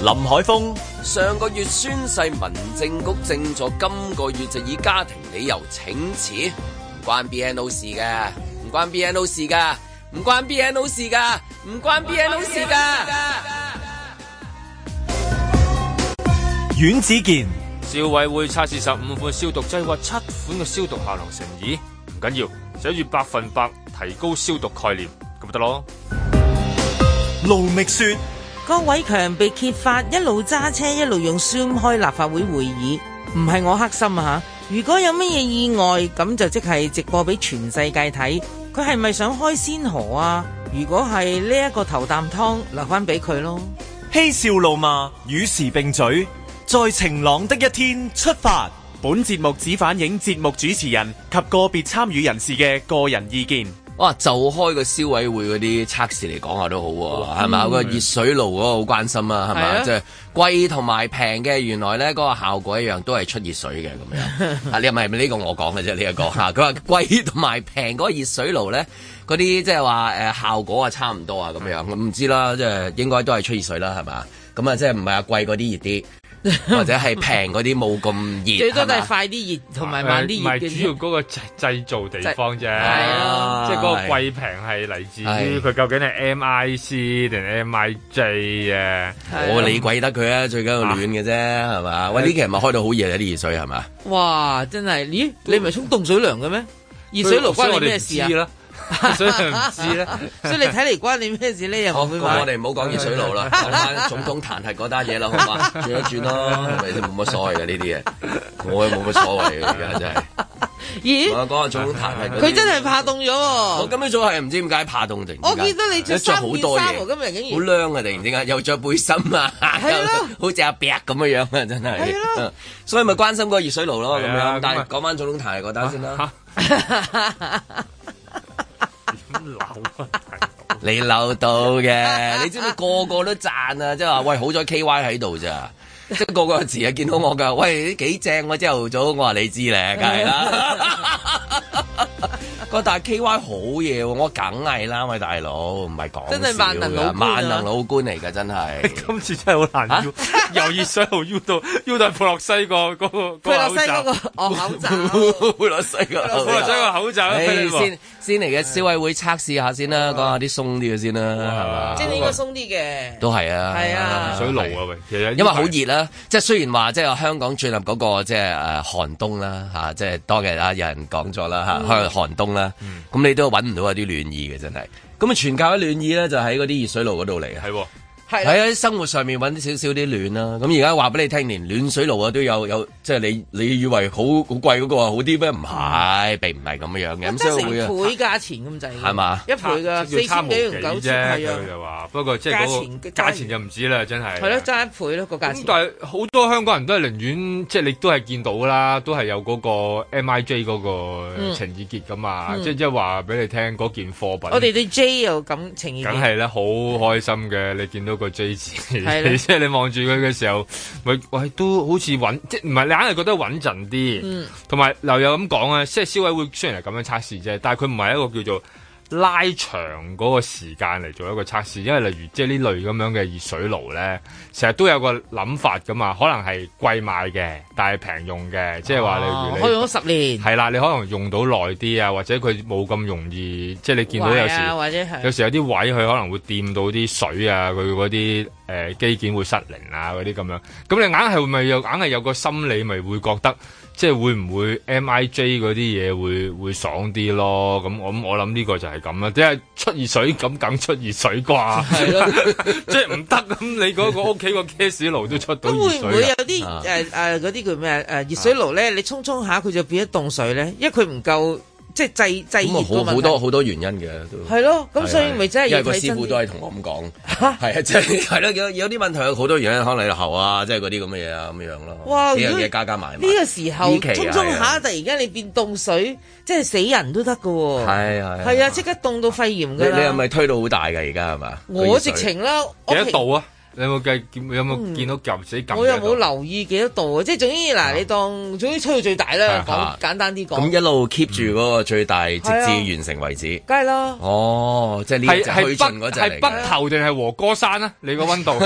林海峰上個月宣誓，民政局正座今個月就以家庭理由請辭，唔關 BNO 事嘅，唔關 BNO 事噶，唔關 BNO 事噶，唔關 BNO 事噶。 阮子健， 消委會測試15款消毒劑，話7款嘅消毒效能成疑，唔緊要，寫住100%提高消毒概念，咁咪得咯。 盧覓雪， 郭偉強被揭發一路揸車一路用 Zoom 開立法會會議，唔係我黑心啊吓！如果有乜嘢意外，咁就即係直播俾全世界睇，佢係咪想開先河啊？如果係呢一個頭啖湯，留翻俾佢咯。 嬉笑怒罵與時並舉，在晴朗的一天出發。本節目只反映節目主持人及個別參與人士嘅個人意見。 哇！就開個消委會嗰啲測試嚟講下都好喎，係咪？個熱水爐嗰個好關心啊，係咪？即係貴同埋平嘅，原來咧嗰個效果一樣，都係出熱水嘅咁樣。啊，你係咪呢個我講嘅啫？呢一個嚇，佢話貴同埋平嗰個熱水爐咧，嗰啲即係話效果啊差唔多啊咁樣。唔知啦，即係應該都係出熱水啦，係嘛？咁啊，即係唔係啊貴嗰啲熱啲。或者係平嗰啲冇咁熱， 最多都係快啲熱同埋慢啲熱嘅。 唔係主要嗰個製造地方啫，即係嗰個貴平係嚟自於佢究竟係 MIC 定 MIJ 啊？ 我理鬼得佢啊，最緊要暖嘅啫，係嘛？喂，呢期係咪開到好熱啊？啲熱水係嘛？ 哇！真係，咦？你唔係沖凍水涼嘅咩？熱水爐關你咩事啊？ 所以唔知咧， 所以你睇嚟關你咩事呢？又好，咁我哋唔好講熱水爐啦，講翻總統彈劾嗰單嘢啦，好嘛？轉一轉咯，係咪先？冇乜所謂嘅呢啲嘢，我又冇乜所謂嘅而家真係。 咦？ 我講下總統彈劾， 佢真係怕凍咗喎！ 我今朝早係唔知點解怕凍定。 我見到你着好多嘢，今日竟然好涼啊！突然之間又着背心啊，好似阿伯咁嘅樣啊，真係。係咯，所以咪關心個熱水爐咯咁樣。但係講翻總統彈劾嗰單先啦。你漏到嘅，你知唔知個個都讚啊？即係話喂，好彩 KY 喺度咋，即係個個時啊見到我噶，喂幾正我朝頭早，我話你知咧，梗係啦。但係 KY 好嘢喎，我梗係啦，喂大佬，唔係講真係萬能老官嚟㗎，真係。 今次真係好難要，由熱水爐要到佩洛西個嗰個佩洛西嗰個口罩， 佩洛西個口罩， 先嚟嘅消委會測試下先啦，講下啲鬆啲嘅先啦，係嘛？ 即係應該鬆啲嘅， 都係啊， 係啊， 熱水爐啊喂，其實因為好熱啦，即係雖然話即係香港進入嗰個即係寒冬啦嚇，即係當日啊有人講咗啦嚇，開寒冬啦，咁你都揾唔到一啲暖意嘅真係，咁啊全靠一暖意咧就喺嗰啲熱水爐嗰度嚟嘅。係喺喺生活上面揾少少啲暖啦，咁而家話俾你聽，連暖水爐啊都有，即係你以為好貴嗰個好啲咩？唔係，並唔係咁樣嘅，咁所以會倍價錢咁滯，係嘛？ 一倍㗎，4000幾同9千係啊， 佢就話，不過即係嗰個價錢就唔止啦，真係。 係咯，爭一倍咯個價錢。 咁但係好多香港人都係寧願，即係你都係見到啦，都係有嗰個 MIJ 嗰個情意結㗎嘛，即係話俾你聽嗰件貨品。 我哋對 J 有咁情意結。 梗係啦，好開心嘅，你見到個 J 字。即係你望住佢嘅時候，喂都好似穩，即係唔係你硬係覺得穩陣啲，同埋又有咁講啊，即係消委會雖然係咁樣測試啫，但係佢唔係一個叫做拉長嗰個時間嚟做一個測試，因為例如即係呢類咁樣嘅熱水爐咧，成日都有個諗法噶嘛，可能係貴買嘅，但係平用嘅，即係話例如你用咗10年， 係啦，你可能用到耐啲啊，或者佢冇咁容易，即係你見到有時， 或者有時有啲位佢可能會掂到啲水啊，佢嗰啲機件會失靈啊嗰啲咁樣，咁你硬係有個心理咪會覺得。即係會唔會 MIJ 嗰啲嘢會爽啲咯？咁我諗呢個就係咁啦，即係出熱水咁梗出熱水啩？係咯，即係唔得咁，你嗰個屋企個 gas 爐都出到熱水。咁會唔會有啲嗰啲叫咩熱水爐咧？你沖下佢就變咗凍水咧？因為佢唔夠。即係製熱個問題， 好多原因嘅都係咯，咁所以咪真係因為個師傅都係同我咁講，係啊，即係係咯，有啲問題有好多原因，可能你喉啊，即係嗰啲咁嘅嘢啊，咁樣咯。哇！幾樣嘢加埋。呢個時候沖下，突然間你變凍水，即係死人都得㗎喎。係啊，即刻凍到肺炎㗎啦。 你係咪推到好大㗎？而家係嘛？ 我直情啦， 幾多度啊？ 你有冇見到夾死撳？ 我又冇留意幾多度啊！即係總之嗱，你當總之吹到最大啦，講簡單啲講。咁一路 keep 住嗰個最大，直至完成為止。 梗係啦。 哦，即係呢隻去盡嗰隻嚟嘅。 係北頭定係和歌山啊？你個溫度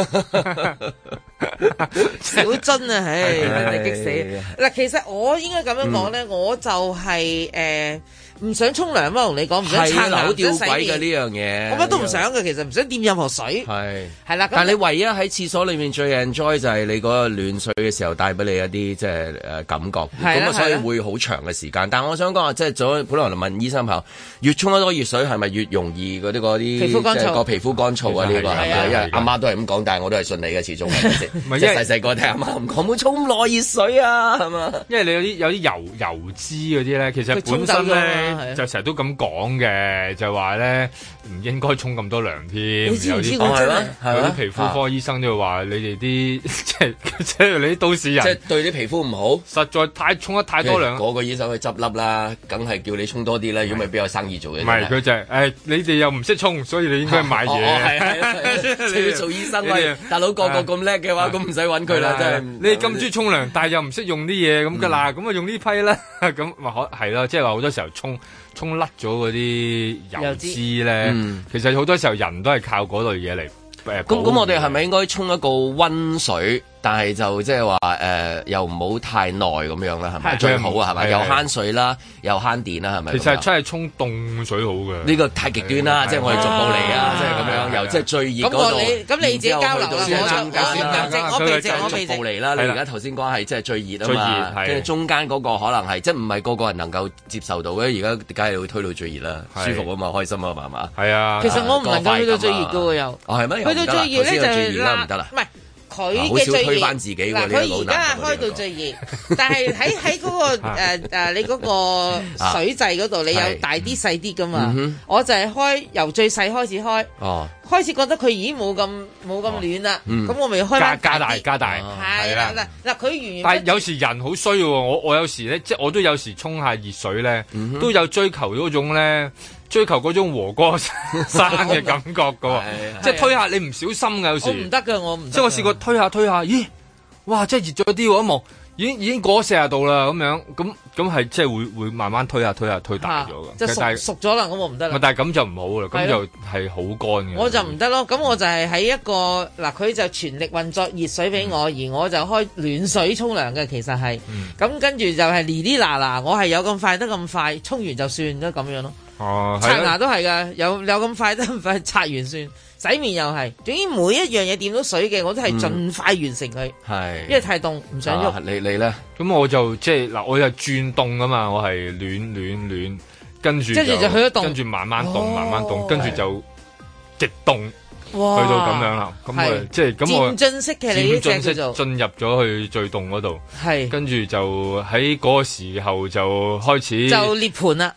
小樽啊！唉，真係激死！嗱，其實我應該咁樣講咧，我就係唔想沖涼嘛，同你講唔想刷牙， 吊詭嘅呢樣嘢， 我乜都唔想嘅，其實唔想掂任何水。係啦， 但係你唯一喺廁所裏面最 enjoy 就係你嗰個暖水嘅時候帶俾你一啲即係感覺，咁所以會好長嘅時間。但係我想講話，即係本來問醫生朋友，越沖得多熱水係咪越容易嗰啲皮膚乾燥？ 個皮膚乾燥啊呢個係咪？因為阿媽都係咁講，但係我都係信你嘅，始終係咪先？即係細個聽阿媽唔講，唔好沖咁耐熱水啊，係嘛？ 因為你有啲油脂嗰啲咧，其實本身咧。就成日都咁講嘅，就話咧唔應該沖咁多涼添。 你知唔知我真係有啲皮膚科醫生都會話你哋啲即係你啲都市人， 即係對啲皮膚唔好， 實在沖得太多涼。 嗰個醫生去執笠啦，梗係叫你沖多啲啦，如果唔係邊有生意做嘅？ 唔係佢就係你哋又唔識沖，所以你應該買嘢。 你要做醫生喂，大佬個個咁叻嘅話，咁唔使揾佢啦，真係。 你咁中意沖涼，但係又唔識用啲嘢咁㗎啦，咁啊用呢批啦，咁話係咯，即係話好多時候沖甩咗嗰啲油脂咧，其實好多時候人都係靠嗰類嘢嚟。 咁我哋係咪應該沖一個溫水？但係就即係話又唔好太耐咁樣啦，係咪最好啊？係咪又慳水啦，又慳電啦，係咪？ 其實真係沖凍水好嘅。 呢個太極端啦，即係我哋逐步嚟啊，即係咁樣，由即係最熱嗰度。 咁你自己交流啦，我逐步嚟啦。你而家頭先講係即係最熱啊嘛，跟住中間嗰個可能係即係唔係個個人能夠接受到嘅。而家梗係會推到最熱啦，舒服啊嘛，開心啊嘛，係嘛？ 係啊。 其實我唔能夠去到最熱嘅喎，又。 哦係咩？ 去到最熱咧就唔得啦。唔係。 佢嘅最熱， 嗱佢而家開到最熱，但係喺嗰個你嗰個水掣嗰度，你有大啲細啲噶嘛？我就係由最細開始開，開始覺得佢已經冇咁暖啦，咁我咪開翻加大， 係啦嗱佢完。 但係有時人好衰喎，我有時咧，即係我都有時沖下熱水咧，都有追求嗰種咧。追求嗰種和歌山嘅感覺㗎喎，即係推下你唔小心㗎有時。 我唔得㗎，我唔得。 即係我試過推下，咦，哇！真係熱咗啲喎，一望已經過咗40度啦，咁樣咁係即係會慢慢推大咗㗎。 即係熟咗啦，咁我唔得啦。 但係咁就唔好啦，咁就係好乾嘅。 我就唔得咯，咁我就係喺一個嗱，佢就全力運作熱水俾我，而我就開暖水沖涼嘅，其實係。咁跟住就係哩嗱，我係有咁快得咁快，沖完就算啦咁樣咯。刷牙都係㗎，有咁快得咁快，刷完算。洗面又係，總之每一樣嘢掂到水嘅，我都係盡快完成佢。係，因為太凍唔想喐。 你咧？咁我就即係嗱，我就轉凍㗎嘛，我係暖，跟住就去咗凍， 跟住慢慢凍，跟住就極凍。去到咁樣啦，咁啊，即係咁我漸進式嘅你呢隻叫做進入咗去最凍嗰度， 係跟住就喺嗰個時候就開始就涅槃啦，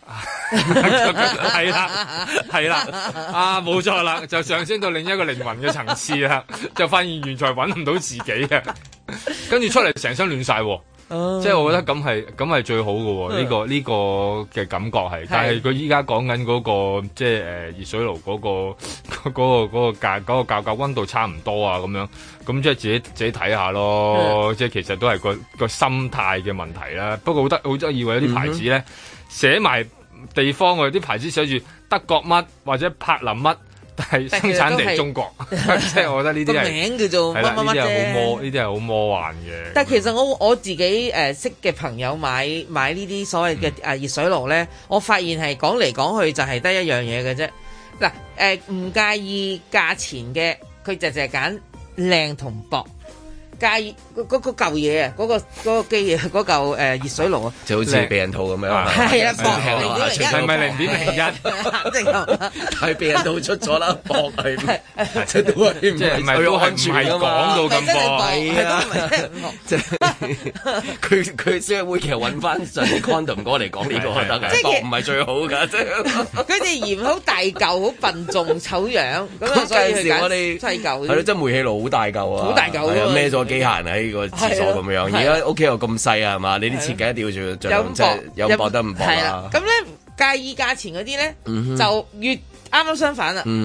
係啦，冇錯啦，就上升到另一個靈魂嘅層次啦，就發現原來揾唔到自己啊，跟住出嚟成身暖晒。即係我覺得咁係最好嘅喎，呢個嘅感覺係，但係佢依家講緊嗰個即係熱水爐嗰個較溫度差唔多啊咁樣，咁即係自己睇下咯，即係其實都係個心態嘅問題啦。不過好得意喎，有啲牌子咧寫埋地方喎，有啲牌子寫住德國乜或者柏林乜。係生產地中國，即係我覺得呢啲係名叫做乜乜乜啫。 呢啲係好魔幻嘅。 但係其實我自己識嘅朋友買呢啲所謂嘅熱水爐咧，我發現係講嚟講去就係得一樣嘢嘅啫。嗱唔介意價錢嘅，佢就淨係揀靚同薄。介意嗰嚿嘢啊，嗰個機啊，嗰嚿熱水爐啊， 就好似避孕套咁樣。 係啊，薄0.01 係咪0.01？ 即係避孕套出咗啦，薄係即係都係即係唔係講到咁薄係啊？即係佢先會其實揾翻上啲 condom 哥嚟講呢個得嘅，薄唔係最好㗎，即係佢哋嫌好大嚿、好笨重、醜樣咁啊，所以佢揀細嚿。係咯，即係煤氣爐好大嚿啊， 好大嚿啊， 孭咗機械人喺個廁所咁樣，而家屋企又咁細啊，係嘛？你啲設計一定要盡量即係有薄得唔薄啦。 咁咧介意價錢嗰啲咧，就越啱啱相反啦。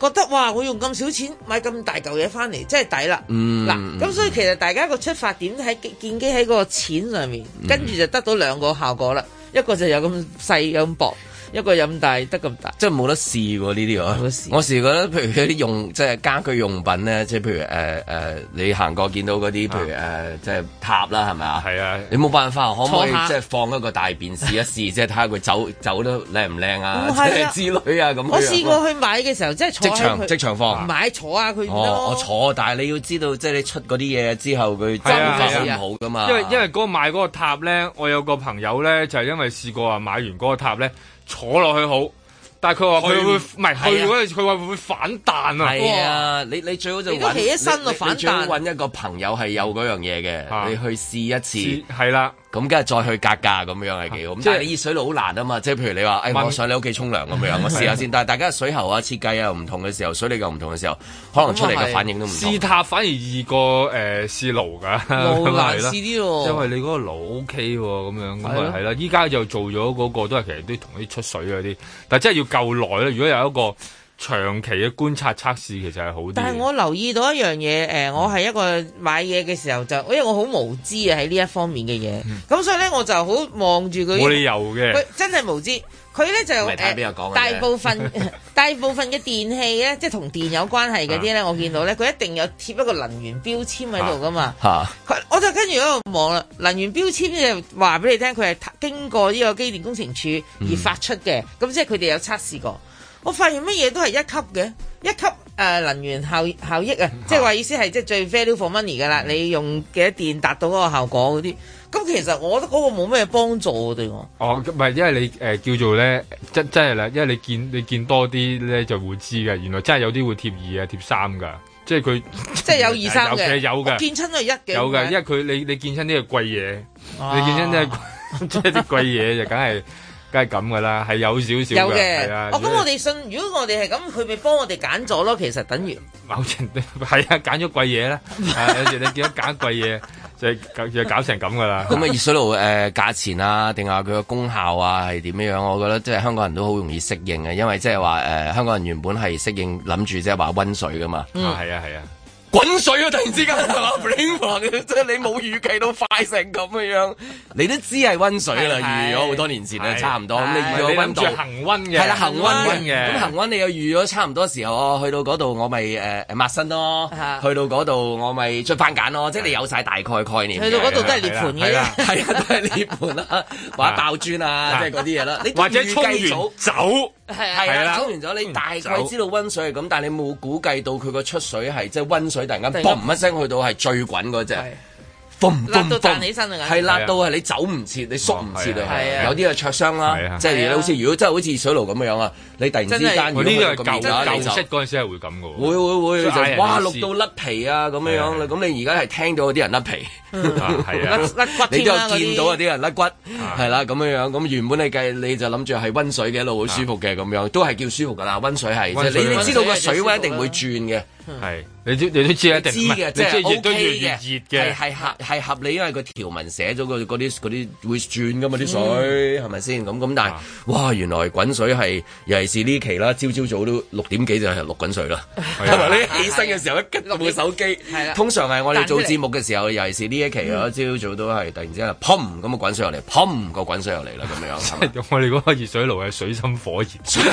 覺得哇，我用咁少錢買咁大嚿嘢翻嚟，真係抵啦。嗱，咁所以其實大家個出發點喺建基喺個錢上面，跟住就得到兩個效果啦。一個就有咁細有咁薄。一個飲大得咁大， 即係冇得試喎呢啲喎。我試覺得，譬如嗰啲用即係家居用品咧，即係譬如你行過見到嗰啲，譬如即係塔啦，係咪啊？係啊，你冇辦法，可唔可以即係放一個大便試一試，即係睇下佢走得靚唔靚啊？即係之類啊咁。 我試過去買嘅時候，即係坐即場放。 買坐下佢。 我坐，但係你要知道，即係你出嗰啲嘢之後，佢真係好唔好噶嘛？ 因為嗰個買嗰個塔咧，我有個朋友咧，就係因為試過話買完嗰個塔咧。坐落去好，但係佢話佢會唔係去嗰陣，佢話會反彈啊！ 係啊，你最好就起一身就反彈。 你最好揾一個朋友係有嗰樣嘢嘅，你去試一次。 係啦。 咁梗係再去格價咁樣係幾好，但係你熱水爐好難啊嘛，即係譬如你話，我上你屋企沖涼咁樣，我試下先。但係大家水喉啊設計啊唔同嘅時候，水力又唔同嘅時候，可能出嚟嘅反應都唔同。 試塔反而易過試爐㗎， 爐難試啲喎。 因為你嗰個爐 OK 喎，咁樣咁啊係啦。依家就做咗嗰個都係其實都同啲出水嗰啲，但係真係要夠耐啦。如果有一個長期嘅觀察測試其實係好啲。 但係我留意到一樣嘢，我係一個買嘢嘅時候就，因為我好無知啊喺呢一方面嘅嘢，咁所以咧我就好望住佢。 冇理由嘅， 佢真係無知。佢咧就大部分嘅電器咧，即係同電有關係嗰啲咧，我見到咧佢一定有貼一個能源標籤喺度噶嘛。我就跟住喺度望啦，能源標籤就話俾你聽，佢係經過呢個機電工程署而發出嘅，咁即係佢哋有測試過。我發現乜嘢都係一級嘅，一級能源效益啊，即係話意思係即係最 value for money 㗎啦，你用幾多電達到嗰個效果嗰啲，咁其實我覺得嗰個冇咩幫助對我。哦， 唔係，因為你叫做咧，真係啦，因為你見多啲咧就會知嘅，原來真係有啲會貼2啊貼3㗎，即係佢即係有2、3嘅， 有嘅， 見親都係1嘅， 有嘅，因為佢你見親啲係貴嘢，你見親啲係即係啲貴嘢就梗係咁噶啦，係有少少嘅。有嘅， 咁我哋信，如果我哋係咁，佢咪幫我哋揀咗咯。其實等於某程度係啊，揀咗貴嘢啦。有時你見到揀貴嘢，就搞成咁噶啦。 咁啊，熱水爐價錢啊，定係佢個功效啊，係點樣樣？我覺得即係香港人都好容易適應嘅，因為即係話香港人原本係適應諗住即係話溫水噶嘛。 係啊。 滾水啊！突然之間係嘛，即係你冇預計到快成咁嘅樣，你都知係溫水啦。預咗好多年前啦，差唔多。咁你預咗溫度恆溫嘅， 係啦，恆溫嘅。咁恆溫你又預咗差唔多時候，去到嗰度我咪抹身咯，去到嗰度我咪出番梘咯，即係你有晒大概概念。 去到嗰度都係涅盤嘅， 係啊，都係涅盤啦，或者爆磚啊，即係嗰啲嘢啦。 或者沖完走。 係啦，沖完咗你大概知道溫水係咁，但係你冇估計到佢個出水係即係溫水突然間嘣一聲去到係最滾嗰隻， 辣到彈起身啊！ 係辣到係你走唔切，你縮唔切啊！有啲係灼傷啦，即係好似如果真係好似水爐咁樣啊，你突然之間呢啲係舊式嗰陣時係會咁嘅喎，會就哇淥到甩皮啊咁樣樣啦，咁你而家係聽到有啲人甩皮。 係啊， 甩骨你都有見到有啲人甩骨，係啦咁樣樣。咁原本你計你就諗住係溫水嘅一路好舒服嘅咁樣，都係叫舒服噶啦。溫水係，即係你知道個水溫一定會轉嘅。係，你都知一定知嘅，即係 OK 嘅，係合理，因為個條文寫咗嗰啲會轉噶嘛啲水，係咪先？咁但係哇，原來滾水係尤其是呢期啦，朝早都6點幾就係淥滾水啦。係咪？你起身嘅時候一吉落部手機，通常係我哋做節目嘅時候，尤其是呢一期啊，朝早都係突然之間砰咁個滾水落嚟，砰個滾水落嚟啦咁樣。 我哋嗰個熱水爐係水深火熱。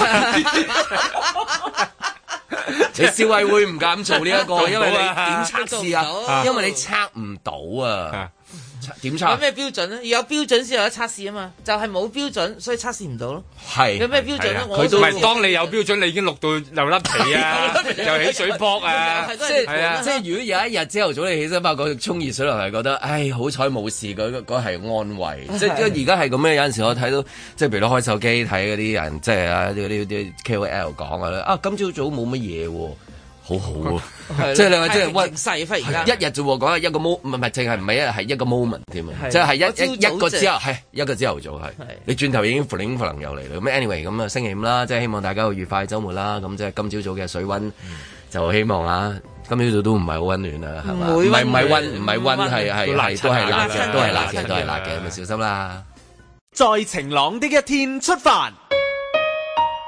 你消委會唔敢做呢一個，因為你點測試啊？因為你測唔到啊。點測？有咩標準咧？要有標準先有得測試啊嘛，就係冇標準，所以測試唔到咯。係有咩標準咧？ 佢都唔係當你有標準，你已經錄到又甩皮啊，又起水泡啊， 即係如果有一日朝頭早你起身發覺沖熱水涼係覺得，唉好彩冇事，嗰係安慰。即係而家係咁樣，有陣時我睇到即係譬如開手機睇嗰啲人，即係啊啲 KOL 講啊，今朝早冇乜嘢喎。好好喎，即係你話即係溫細忽而家一日啫喎，講一個 moment 唔係淨係唔係一日係一個 moment 添啊，即係一個之後係一個朝頭早係，你轉頭已經可能又嚟啦。咁 anyway 咁啊星期5啦，即係希望大家有愉快週末啦。咁即係今朝早嘅水溫就希望啊，今朝早都唔係好溫暖啦，係嘛？唔係溫係都係辣嘅，都係辣嘅，咪小心啦。 在晴朗的一天出發。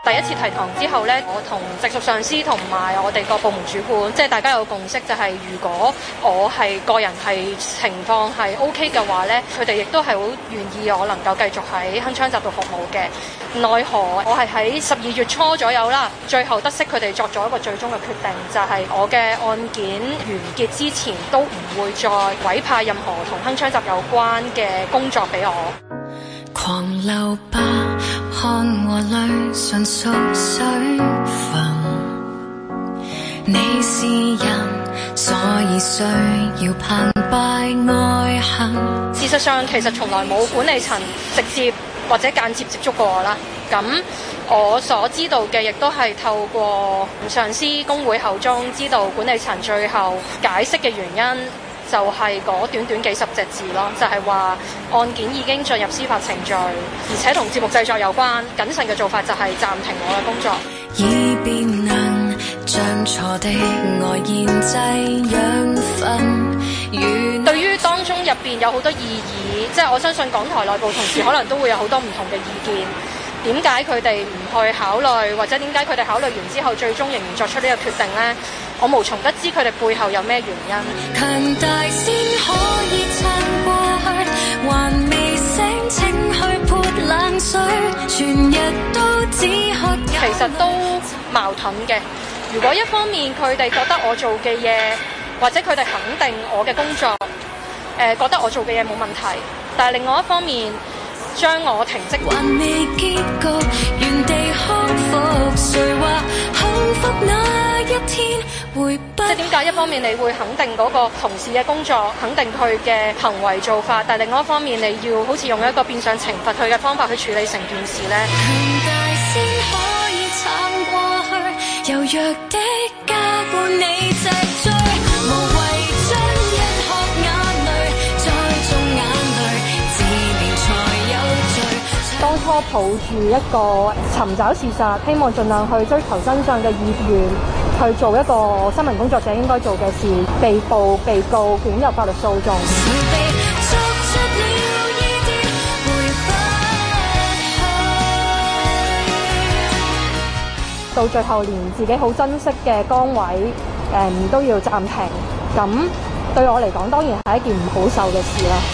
第一次提堂之後呢，我同直屬上司同埋我哋個部門主管，即係大家有共識，就係如果我係個人係情況係 OK 嘅話呢，佢哋亦都係好願意我能夠繼續喺鏗鏘集度服務嘅。奈何我係喺12月初左右啦，最後得悉佢哋作咗一個最終嘅決定，就係我嘅案件完結之前都唔會再委派任何同鏗鏘集有關嘅工作俾我。 狂流吧，看和淚純屬水分。你是人，所以需要澎湃愛恨。 事實上，其實從來冇管理層直接或者間接接觸過我啦。咁我所知道嘅，亦都係透過上司工會口中知道管理層最後解釋嘅原因。就係嗰短短幾十隻字咯，就係話案件已經進入司法程序，而且同節目製作有關。謹慎嘅做法就係暫停我嘅工作。 以便能將錯的愛研製養分。 對於當中入邊有好多異議，即係我相信港台內部同事可能都會有好多唔同嘅意見。點解佢哋唔去考慮，或者點解佢哋考慮完之後最終仍然作出呢個決定呢？我無從得知佢哋背後有咩原因。 強大先可以撐過去，還未醒請去潑冷水，全日都只喝。 其實都矛盾嘅。如果一方面佢哋覺得我做嘅嘢，或者佢哋肯定我嘅工作，覺得我做嘅嘢冇問題，但係另外一方面，將我停職， 還未結局，原地康復。誰話幸福那一天會不？ 即係點解一方面你會肯定嗰個同事嘅工作，肯定佢嘅行為做法，但係另外一方面你要好似用一個變相懲罰佢嘅方法去處理成件事呢？ 強大先可以撐過去，柔弱的加固你脊椎，無謂將一殼眼淚再種眼淚。 當初抱住一個尋找事實，希望盡量去追求真相嘅意願，去做一個新聞工作者應該做嘅事，被捕、被告捲入法律訴訟。到最後連自己好珍惜嘅崗位，都要暫停。咁對我嚟講，當然係一件唔好受嘅事啦。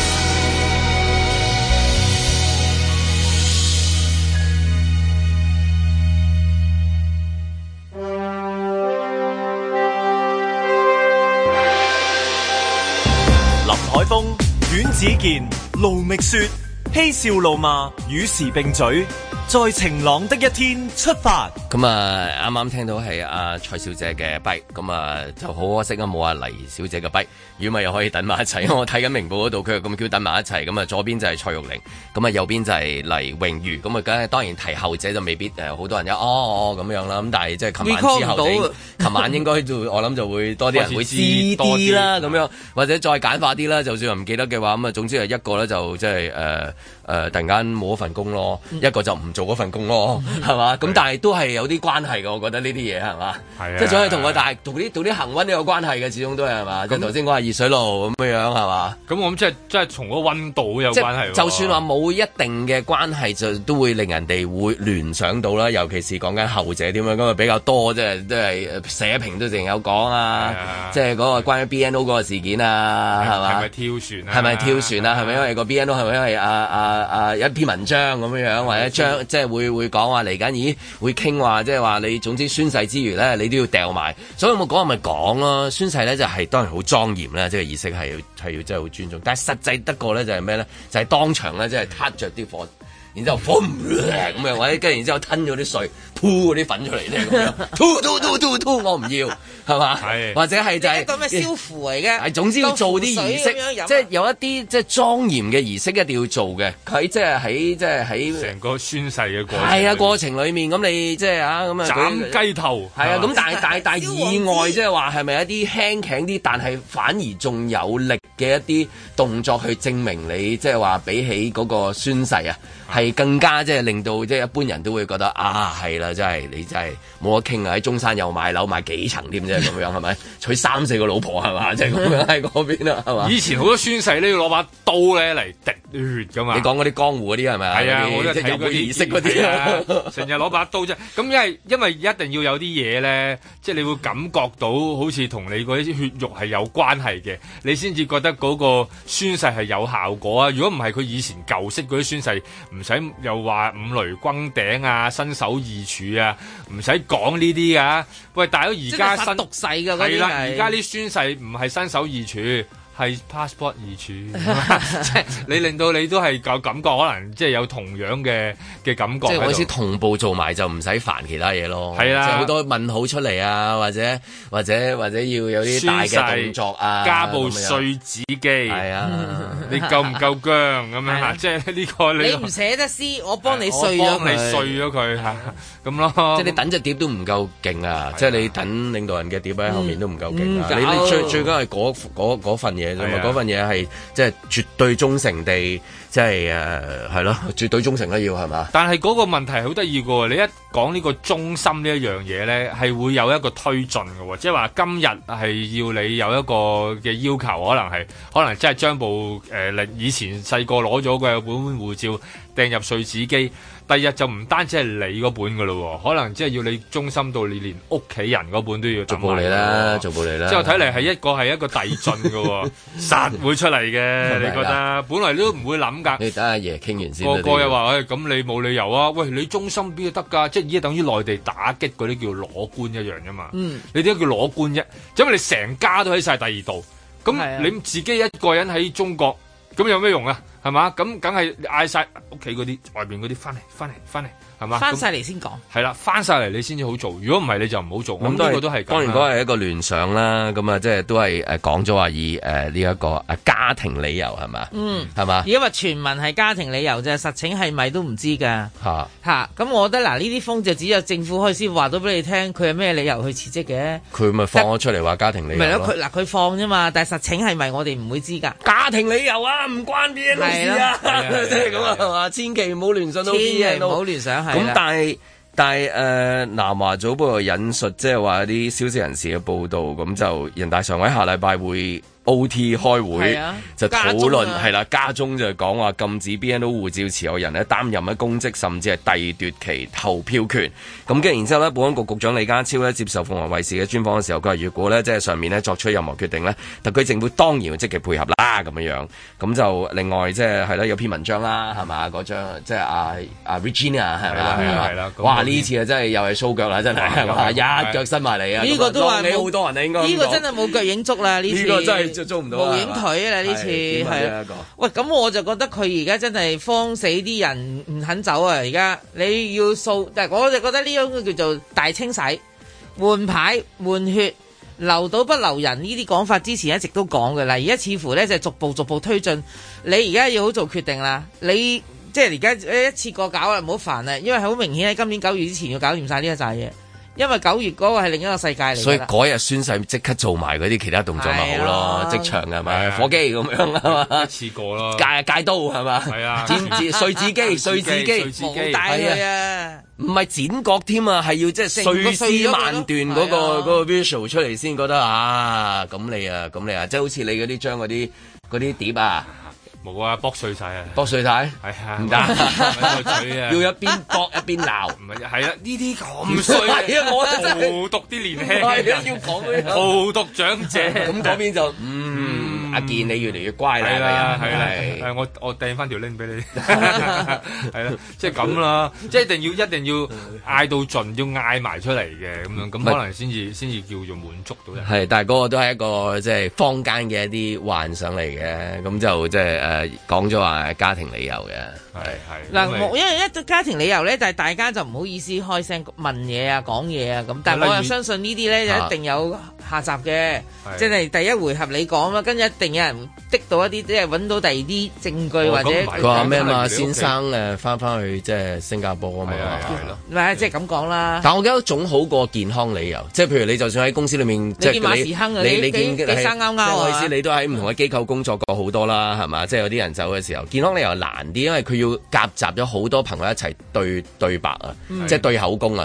海風、阮子健、盧覓雪，嬉笑怒罵，與時並舉，在晴朗的一天出發。 咁啊，啱啱聽到係阿蔡小姐嘅跛，咁啊就好可惜啊，冇阿黎小姐嘅跛。如果咪又可以等埋一齊，因為我睇緊明報嗰度，佢又咁叫等埋一齊。咁啊，左邊就係蔡玉玲，咁啊右邊就係黎穎瑜。咁啊，梗係當然提後者就未必好多人有咁樣啦。咁但係即係琴晚之後，琴晚應該就我諗就會多啲人會知啲啦，咁樣或者再簡化啲啦。就算唔記得嘅話，咁啊總之係一個咧就即係突然間冇咗份工咯，一個就唔做嗰份工咯，係嘛？咁但係都係有啲關係嘅，我覺得呢啲嘢係嘛？係啊，即係總係同個同啲恆溫都有關係嘅，始終都係嘛？即係頭先講話熱水爐咁樣係嘛？ 咁我諗即係從個溫度有關係。 就算話冇一定嘅關係，就都會令人哋會聯想到啦。尤其是講緊後者點樣咁啊，比較多即係社評都淨有講啊，即係嗰個關於 BNO 嗰個事件啊，係嘛？係咪跳船啊？係咪跳船啊？係咪因為個 BNO 係咪因為一篇文章咁樣或者將即係會講話嚟緊，咦會傾話即係話你總之宣誓之餘咧，你都要掉埋。所以我講咪講咯，宣誓咧就係當然好莊嚴啦，即係儀式係要真係好尊重。但係實際得過咧就係咩咧？就係當場咧即係撻着啲火。然之後咁樣，或者跟住然之後吞咗啲水，吐嗰啲粉出嚟咧咁樣，吐，我唔要，係嘛？係，或者係就係咁嘅消符嚟嘅。 係總之要做啲儀式，即係有一啲即係莊嚴嘅儀式一定要做嘅。佢即係喺成個宣誓嘅過程。 係啊，過程裡面咁你即係咁啊斬雞頭。係啊，咁但係意外即係話係咪一啲輕輕啲，但係反而仲有力嘅一啲動作去證明你即係話比起嗰個宣誓啊？係更加即係令到即係一般人都會覺得係啦，真係你真係冇得傾啊！喺中山又買樓買幾層添啫，咁樣係咪？娶3-4個老婆係嘛？即係咁樣喺嗰邊啦，係嘛？ 以前好多宣誓都要攞把刀咧嚟滴血噶嘛。 你講嗰啲江湖嗰啲係咪啊？ 係啊，我都睇嗰啲儀式嗰啲啊， 成日攞把刀啫。咁因為一定要有啲嘢咧，即係你會感覺到好似同你嗰啲血肉係有關係嘅，你先至覺得嗰個宣誓係有效果啊。如果唔係，佢以前舊式嗰啲宣誓唔使又話五雷轟頂啊、身首異處啊，唔使講呢啲噶。喂，大佬而家新毒誓㗎嗰啲係。係啦， 而家啲宣誓唔係身首異處。係 passport 異處，即係你令到你都係有感覺，可能即係有同樣嘅感覺。 即係好似同步做埋就唔使煩其他嘢咯。 係啦， 即係好多問號出嚟啊，或者要有啲大嘅動作啊， 加部碎紙機。係啊，你夠唔夠薑咁樣？即係呢個你唔捨得撕，我幫你碎咗佢嚇咁咯。 即係你等隻碟都唔夠勁啊！即係你等領導人嘅碟喺後面都唔夠勁啊！你最緊係嗰份嘢。嗰份嘢係即係絕對忠誠地，即係係咯，絕對忠誠啦要係嘛？ 但係嗰個問題好得意嘅喎，你一講呢個忠心呢一樣嘢咧，係會有一個推進嘅喎，即係話今日係要你有一個嘅要求，可能即係將部以前細個攞咗嘅本護照掟入碎紙機。第二日就唔單止係你嗰本噶咯，可能即係要你忠心到你連屋企人嗰本都要逐步嚟啦，逐步嚟啦。 之後睇嚟係一個遞進噶，實會出嚟嘅。你覺得？本來都唔會諗㗎。 你等阿爺傾完先。 個又話：咁你冇理由啊！喂，你忠心邊得㗎？即係而家等於內地打擊嗰啲叫裸官一樣啫嘛。你點解叫裸官啫？因為你成家都喺晒第二度，咁你自己一個人喺中國，咁有咩用啊？係嘛？咁梗係嗌晒屋企嗰啲外邊嗰啲翻嚟，係嘛？ 翻晒嚟先講。 係啦，翻晒嚟你先至好做。如果唔係你就唔好做。咁呢個都係當然嗰係一個聯想啦。咁啊，即係都係講咗話以呢一個家庭理由係嘛？係嘛？ 而家話傳聞係家庭理由啫，實情係咪都唔知㗎。咁我覺得嗱，呢啲風就只有政府可以先話到俾你聽，佢係咩理由去辭職嘅。佢咪放咗出嚟話家庭理由。咪咯， 佢放啫嘛，但係實情係咪我哋唔會知㗎。 家庭理由啊，唔關 BNO 事啊，即係咁啊，係嘛？千祈唔好聯想到 BNO， 唔好聯想係。 咁但係南華早報引述即係話啲消息人士嘅報道，咁就人大常委下禮拜會OT 開會就討論係啦，家中就講話禁止 BNO 護照持有人咧擔任公職，甚至係締奪其投票權。咁跟住然之後咧，保安局局長李家超咧接受鳳凰衛視嘅專訪嘅時候，佢話如果咧即係上面咧作出任何決定咧，特區政府當然會積極配合啦咁樣。咁就另外即係啦，有篇文章啦係嘛，嗰張即係阿 Regina 係咪啦？哇！呢次啊真係又係 show 腳啦，真係係嘛，一腳伸埋嚟啊！ 呢個都話你好多人啊，應該呢個真係冇腳影足啦，呢次呢個真係做唔到無影腿啊！呢次係喂，咁我就覺得佢而家真係慌死啲人唔肯走啊！而家你要掃，但係我就覺得呢種叫做大清洗、換牌、換血、留到不留人呢啲講法，之前一直都講嘅啦。而家似乎咧就逐步推進，你而家要好做決定啦。你即係而家一次過搞啦，唔好煩啦，因為好明顯喺今年9月之前要搞掂晒呢一紮嘢。因為9月嗰個係另一個世界嚟， 所以嗰日宣誓即刻做埋嗰啲其他動作咪好咯，即場係咪？火機咁樣啊嘛， 一次過咯， 戒刀係嘛？ 係啊， 碎紙機， 冇帶佢啊！ 唔係剪角添啊，係要即係碎屍萬段嗰個 visual 出嚟先覺得啊，咁你啊，即係好似你嗰啲將嗰啲碟啊。 冇啊，剝碎晒啊！ 剝碎晒， 係啊， 唔得， 嘴啊， 要一邊剝一邊鬧， 唔係，係啊，呢啲咁碎啊，我荼毒啲年輕人， 要講嗰啲荼毒長者， 咁嗰邊就阿健你越嚟越乖啦， 係啦，我掟翻條 link 俾你，係啦，即係咁啦，即係一定要嗌到盡，要嗌埋出嚟嘅咁樣，咁可能先至叫做滿足到人。 係，但係嗰個都係一個即係坊間嘅一啲幻想嚟嘅，咁就即係講咗話家庭理由嘅， 係嗱，因為一家庭理由咧，但係大家就唔好意思開聲問嘢啊、講嘢啊咁，但係我又相信呢啲咧就一定有下集嘅，即係第一回合你講啦，跟住一定有人滴到一啲，即係揾到第二啲證據或者佢話咩嘛？先生翻去即係新加坡啊嘛， 係咯， 唔係即係咁講啦。 但我覺得總好過健康理由，即係譬如你就算喺公司裏面，即係你見馬時亨啊，你幾生勾勾啊？ 我意思你都喺唔同嘅機構工作過好多啦，係嘛？即係有啲人走嘅時候，健康理由難啲，因為佢要夾雜咗好多朋友一齊對白啊，即係對口供啊。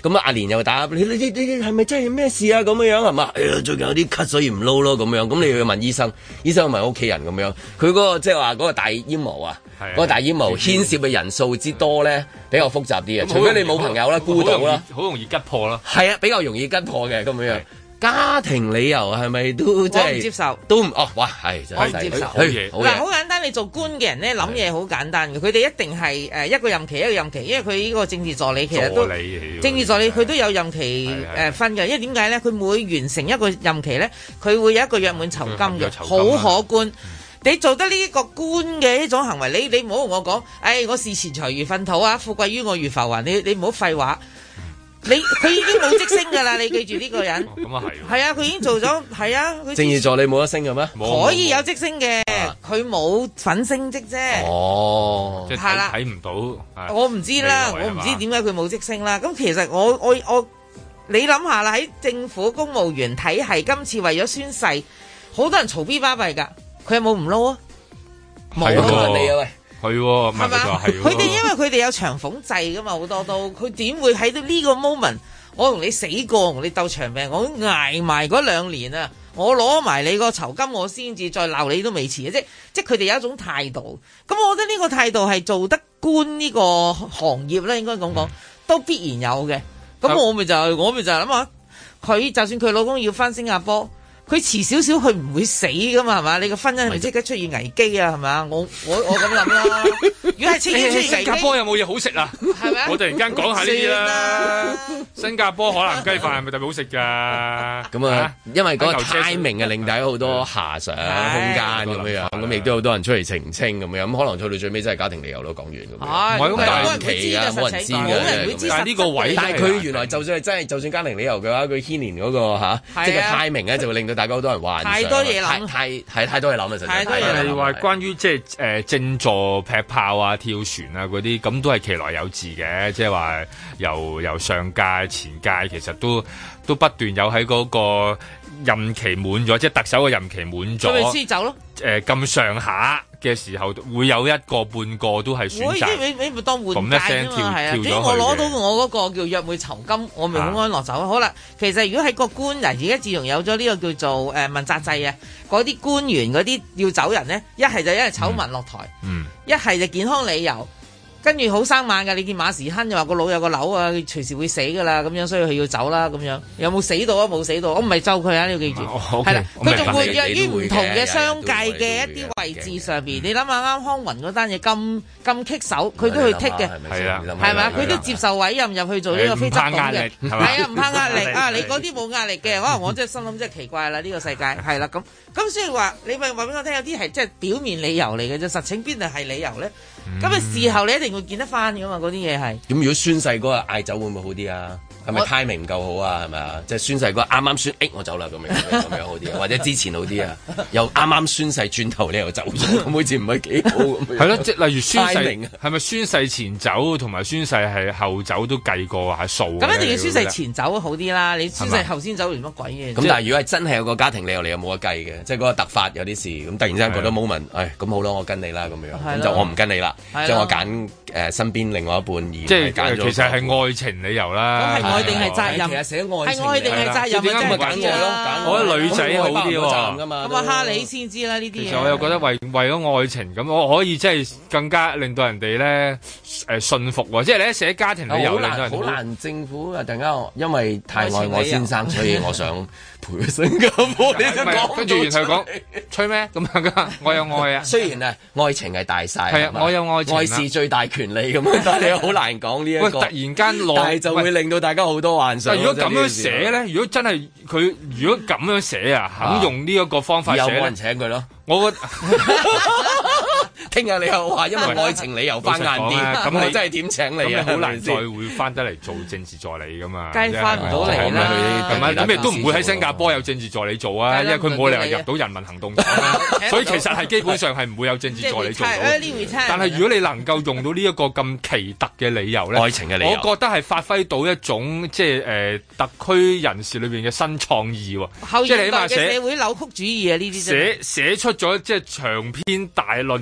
咁阿蓮又打你係咪真係咩事啊？咁樣係嘛？哎呀，最近有啲咳，所以唔撈咯咁樣。咁你要問醫生，醫生問屋企人咁樣。佢嗰個即係話嗰個大煙霧啊，嗰個大煙霧牽涉嘅人數之多咧，比較複雜啲啊。除非你冇朋友啦，孤島啦， 好容易吉破啦。 係啊，比較容易吉破嘅咁樣。家庭理由係咪都即係？我唔接受， 都唔哇係真係我唔接受。嗱，好簡單，你做官嘅人咧諗嘢好簡單嘅，佢哋一定係一個任期一個任期，因為佢呢個政治助理其實都政治助理佢都有任期分嘅，因為點解咧？佢每完成一個任期咧，佢會有一個約滿酬金嘅，好可觀。你做得呢一個官嘅呢種行為，你唔好同我講，我視錢財如糞土啊，富貴於我如浮雲，你唔好廢話。佢已經冇職升㗎啦，你記住呢個人。 咁啊係。 係啊，佢已經做咗，係啊。 政治助理冇得升嘅咩？ 可以有職升嘅，佢冇份升職啫。 哦， 即係睇唔到。 我唔知啦，我唔知點解佢冇職升啦。咁其實我你諗下啦，喺政府公務員體系，今次為咗宣誓，好多人嘈 B 巴閉㗎，佢有冇唔撈啊？冇問你啊喂。 係喎， 係嘛？佢哋因為佢哋有長俸制噶嘛，好多都佢點會喺到呢個 moment？我同你死過，同你鬥長命，我捱埋嗰2年啊！我攞埋你個酬金，我先至再鬧你都未遲嘅，即係佢哋有一種態度。咁我覺得呢個態度係做得官呢個行業咧，應該咁講都必然有嘅。咁我咪就諗下，佢就算佢老公要返新加坡。佢遲少少，佢唔會死噶嘛，係嘛？你個婚姻係咪即刻出現危機啊？係咪？我咁諗啦。如果係青天出現危機， 新加坡有冇嘢好食啊？ 係咪？ 我突然間講下呢啲啦。新加坡海南雞飯係咪特別好食㗎？ 咁啊，因為嗰個 timing 啊，令大家好多遐想空間咁樣，咁亦都有好多人出嚟澄清咁樣，咁可能做到最尾真係家庭理由咯，講完咁樣。 唔係咁大期啊，冇人知嘅。 但係呢個位， 但係佢原來就算係真係，就算家庭理由嘅話，佢牽連嗰個即係 timing 咧，就會令到大家好多人幻想， 太多嘢諗， 太多嘢諗啊！實在係話關於即係正座劈炮啊、跳船啊嗰啲，咁都係其來有自嘅，即係話由上屆前屆其實都不斷有喺嗰個任期滿咗，即係特首嘅任期滿咗， 佢咪先走咯？ 咁上下嘅時候，會有一個半個都係選擇， 你咪當換屆啊嘛，係啊！只要我攞到我嗰個叫約會酬金，我咪好安樂走。好啦，其實如果喺個官嗱，而家自從有咗呢個叫做問責制啊，嗰啲官員嗰啲要走人咧，一係就因為醜聞落台，一係就健康理由。跟住好生猛㗎，你見馬時亨就話個腦有個瘤啊，佢隨時會死㗎啦，咁樣所以佢要走啦，咁樣有冇死到啊？冇死到，我唔係咒佢啊，你要記住，係啦，佢仲會約於唔同嘅商界嘅一啲位置上邊，你諗下啱康雲嗰單嘢咁棘手，佢都去剔嘅，係啊，係咪？佢都接受委任入去做呢個非執黨嘅，係啊，唔怕壓力啊！你嗰啲冇壓力嘅，可能我真係心諗真係奇怪啦，呢個世界係啦，咁所以話你咪話俾我聽，有啲係即係表面理由嚟嘅啫，實情邊度係理由咧？咁啊，事後你一定會見得翻噶嘛？嗰啲嘢係。咁如果宣誓嗰個嗌走會唔會好啲啊？係咪 timing 唔夠好啊？係咪啊？即係宣誓嗰個啱啱宣，我走啦咁樣好啲，或者之前好啲啊？又啱啱宣誓轉頭你又走咗，咁好似唔係幾好咁樣。係咯，即係例如宣誓，係咪宣誓前走同埋宣誓係後走都計過下數？咁一定要宣誓前走好啲啦！你宣誓後先走完乜鬼嘢？咁但係如果係真係有個家庭理由，你又冇得計嘅，即係嗰個突發有啲事，咁突然之間覺得 moment，咁好咯，我跟你啦咁樣，咁就我唔跟你啦，即係我揀身邊另外一半而即係其實係愛情理由啦。愛定係責任？其實寫愛情係愛定係責任？點解咪揀我咯？我覺得女仔好啲喎。咁啊，蝦你先知啦呢啲嘢。其實我又覺得為咗愛情咁，我可以即係更加令到人哋咧信服喎。即係你一寫家庭理由，好難政府啊！突然間因為太愛我先生，所以我想陪佢新加坡。跟住然後講吹咩咁樣噶？我有愛啊！雖然啊，愛情係大晒，係啊，我有愛情，愛是最大權利咁樣，但係你好難講呢一個。突然間但係就會令到大家好多幻想。如果咁樣寫咧，如果真係佢如果咁樣寫啊，肯用呢一個方法寫咧，有冇人請佢咯？我覺得聽日你又話因為愛情理由翻晏啲，咁你真係點請你啊？好難再會翻得嚟做政治助理噶嘛？梗係翻唔到嚟啦！咁亦都唔會喺新加坡有政治助理做啊，因為佢冇理由入到人民行動黨，所以其實係基本上係唔會有政治助理做到。但係如果你能夠用到呢一個咁奇特嘅理由咧，愛情嘅理由，我覺得係發揮到一種即係特區人士裏邊嘅新創意喎。即係你起碼寫社會扭曲主義啊！呢啲寫出咗即係長篇大論敘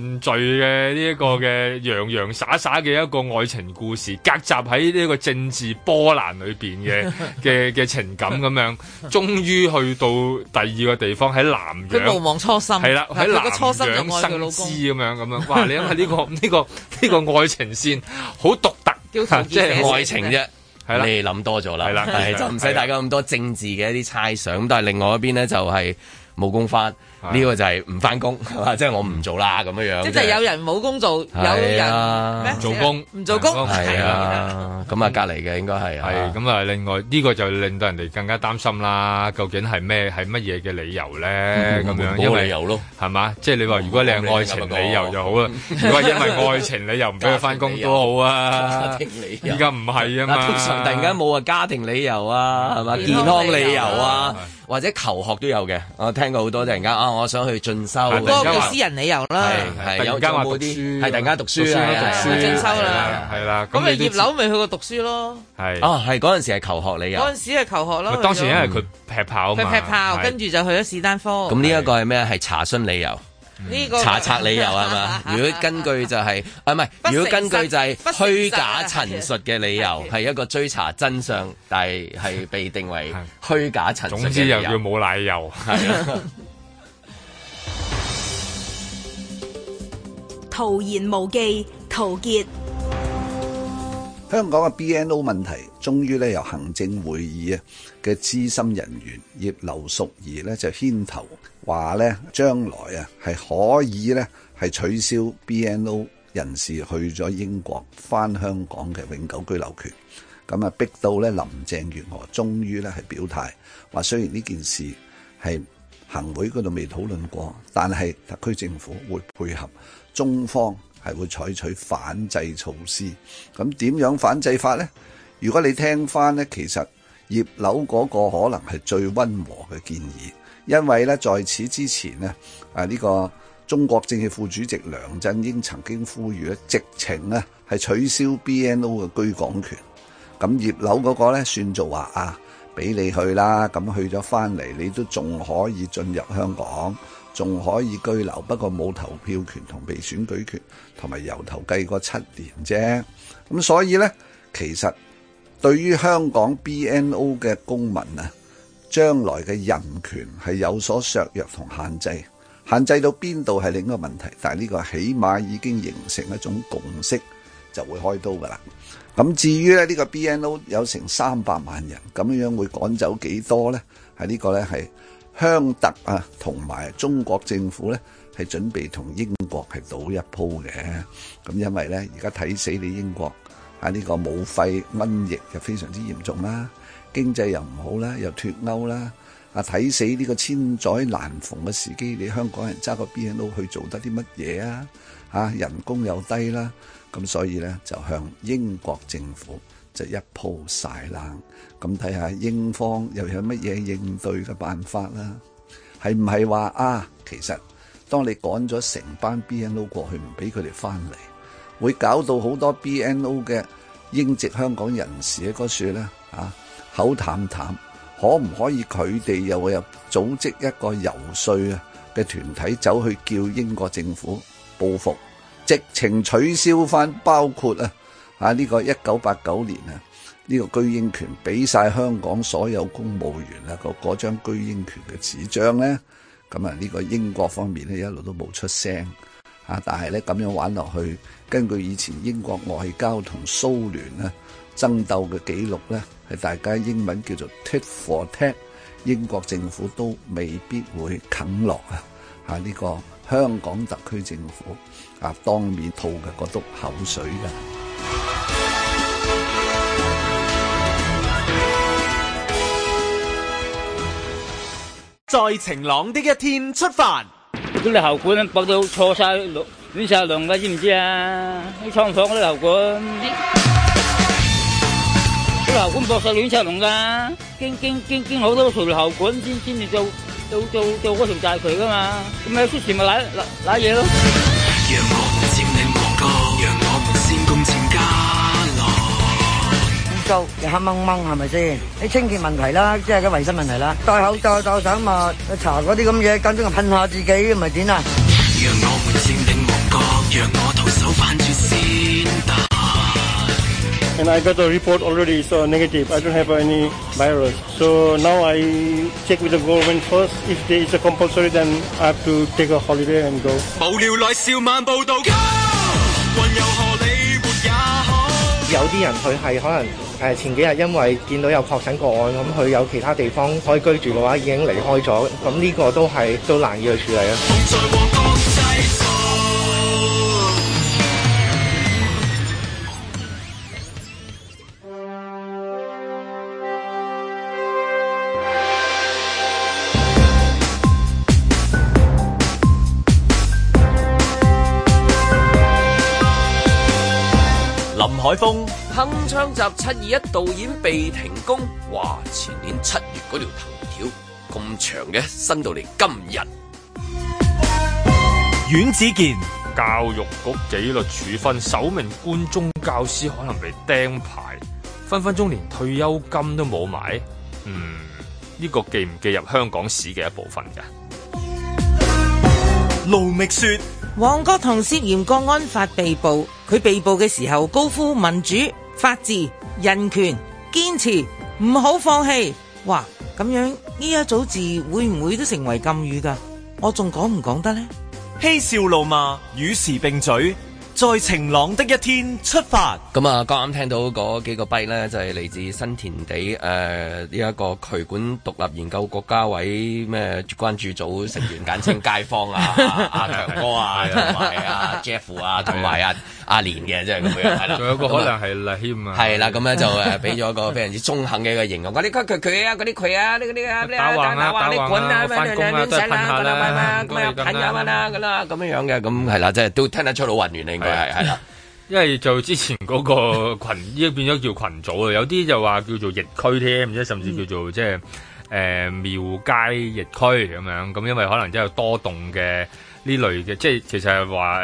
嘅呢一個嘅洋洋灑灑嘅一個愛情故事，夾雜喺呢個政治波瀾裏邊嘅情感咁樣，終於去到第二個地方喺南洋， 佢無忘初心， 係啦，喺南洋生枝咁樣，哇！你諗下呢個愛情線好獨特， 即係愛情啫。 係啦， 你諗多咗啦， 係啦， 就唔使大家咁多政治嘅一啲猜想。咁但係另外一邊咧就係冇工返，呢個就係唔返工，係嘛？即係我唔做啦咁樣樣。即係有人冇工做，有人做工唔做工， 係啊。咁啊，隔離嘅應該係係咁啊。另外呢個就令到人哋更加擔心啦。究竟係乜嘢嘅理由咧？咁樣冇理由咯， 係嘛？即係你話如果你係愛情理由就好啦。如果因為愛情理由唔俾佢返工都好啊。而家唔係啊嘛。 通常突然間冇話家庭理由啊，係嘛？健康理由啊。或者求學都有嘅，我聽過好多突然間我想去進修， 嗰個叫私人理由啦， 係有間話讀書，係突然間讀書進修啦， 係啦。 咁咪葉劉咪去過讀書咯， 係係嗰陣時係求學理由， 嗰陣時係求學咯。 當時因為佢劈炮嘛， 佢劈炮，跟住就去咗士丹科。 咁呢一個係咩？係查詢理由。 呢個查冊理由係嘛？如果根據就係唔係？如果根據就係虛假陳述嘅理由，係一個追查真相，但係被定為虛假陳述嘅理由。總之又叫冇奶油。係徒言無忌，陶傑。 香港嘅 BNO 問題，終於咧由行政會議嘅資深人員葉劉淑儀咧就牽頭話咧，將來係可以咧係取消 BNO 人士去咗英國返香港嘅永久居留權。咁啊逼到咧林鄭月娥終於咧係表態，話雖然呢件事係行會嗰度未討論過，但係特區政府會配合中方，係會採取反制措施。咁點樣反制法呢？如果你聽翻呢，其實葉劉嗰個可能係最溫和嘅建議，因為呢在此之前呢，呢個中國政協副主席梁振英曾經呼籲咧，直情呢係取消 BNO 嘅居港權。咁葉劉嗰個呢，算做話俾你去啦，咁去咗翻嚟，你都仲可以進入香港。仲可以居留，不過冇投票權同被選舉權，同埋由頭計過7年啫。咁所以呢，其實對於香港 BNO 嘅公民將來嘅人權係有所削弱同限制，限制到邊度係另一個問題。但係呢個起碼已經形成一種共識，就會開刀噶啦。咁至於呢個 BNO 有成300萬人，咁樣會趕走幾多呢？係呢個呢係。香特同埋中國政府呢係準備同英國係賭一鋪嘅。咁因為呢，而家睇死你英國呢個武肺瘟疫就非常之嚴重啦，經濟又唔好啦，又脫歐啦，睇死呢個千載難逢嘅時機，你香港人揸個 BNO 去做得啲乜嘢啊？人工又低啦，咁所以呢，就向英國政府就一鋪晒冷，咁睇下英方又有乜嘢應對嘅辦法啦？係唔係話其實當你趕咗成班 BNO 過去，唔俾佢哋翻嚟，會搞到好多 BNO 嘅英籍香港人士喺嗰處咧口淡淡，可唔可以佢哋又會有組織一個遊說嘅團體走去叫英國政府報復，直情取消翻包括呢個1989年呢個居英權俾晒香港所有公務員嗰張居英權嘅紙張呢？咁呢個英國方面呢一路都冇出聲但係呢咁樣玩落去，根據以前英國外交同蘇聯爭鬥嘅記錄呢，係大家英文叫做 tit for tat， 英國政府都未必會啃落呢個香港特區政府當面吐嘅嗰督口水㗎。 在晴朗的一天出發。 嗰啲喉管駁到錯晒亂晒龍㗎，知唔知啊？啲廠房嗰啲喉管，啲喉管駁晒亂晒龍㗎，經好多條喉管先至做嗰條大渠㗎嘛，咁咪出事咪瀨嘢咯。讓我們佔領旺角，讓我們先攻佔家樂。污糟又黑掹掹係咪先？啲清潔問題啦，即係個衞生問題啦。戴口罩就想抹，搽嗰啲咁嘢，間中又噴下自己，咪點啊？讓我們佔領旺角，讓 And I got a report already, so negative. I don't have any virus. So now I check with the government first. If there is a compulsory, then I have to take a holiday and go. 無聊來笑晚報道，運又何理活也好。 有啲人佢係可能前幾日因為見到有確診個案，咁佢有其他地方可以居住嘅話，已經離開咗，咁呢個都難以去處理啊。 林海峰， 鏗鏘集721導演被停工，哇！前年7月嗰條藤條咁長嘅，伸到嚟今日。 阮子健， 教育局紀律處分首名官中教師可能被釘牌，分分鐘連退休金都冇埋。呢個記唔記入香港史嘅一部分㗎？ 盧覓雪。 旺角同涉嫌國安法被捕，佢被捕嘅時候高呼民主、法治、人權，堅持唔好放棄。哇，咁樣呢一組字會唔會都成為禁語㗎？我仲講唔講得呢？ 嬉笑怒罵，與時並舉，在晴朗的一天出發。 咁啊，剛啱聽到嗰幾個跛咧，就係嚟自新田地呢一個渠管獨立研究國家委咩關注組成員，簡稱街坊啊，阿強哥啊，同埋阿 Jeff 啊，同埋阿連嘅，即係咁樣係啦。 仲有個可能係賴謙啊。 係啦，咁咧就俾咗一個非常之中肯嘅一個形容。嗰啲佢啊，嗰啲佢啊，呢嗰啲啊，打橫你滾啊，翻工啊，都係噴下啦，咁啊噴下啦，咁樣嘅，咁係啦，即係都聽得出好混亂啦，應該係啦。 因為就之前嗰個群依家變咗叫群組啊，有啲就話叫做疫區添，即係甚至叫做即係廟街疫區咁樣。咁因為可能真係有多棟嘅呢類嘅，即係其實係話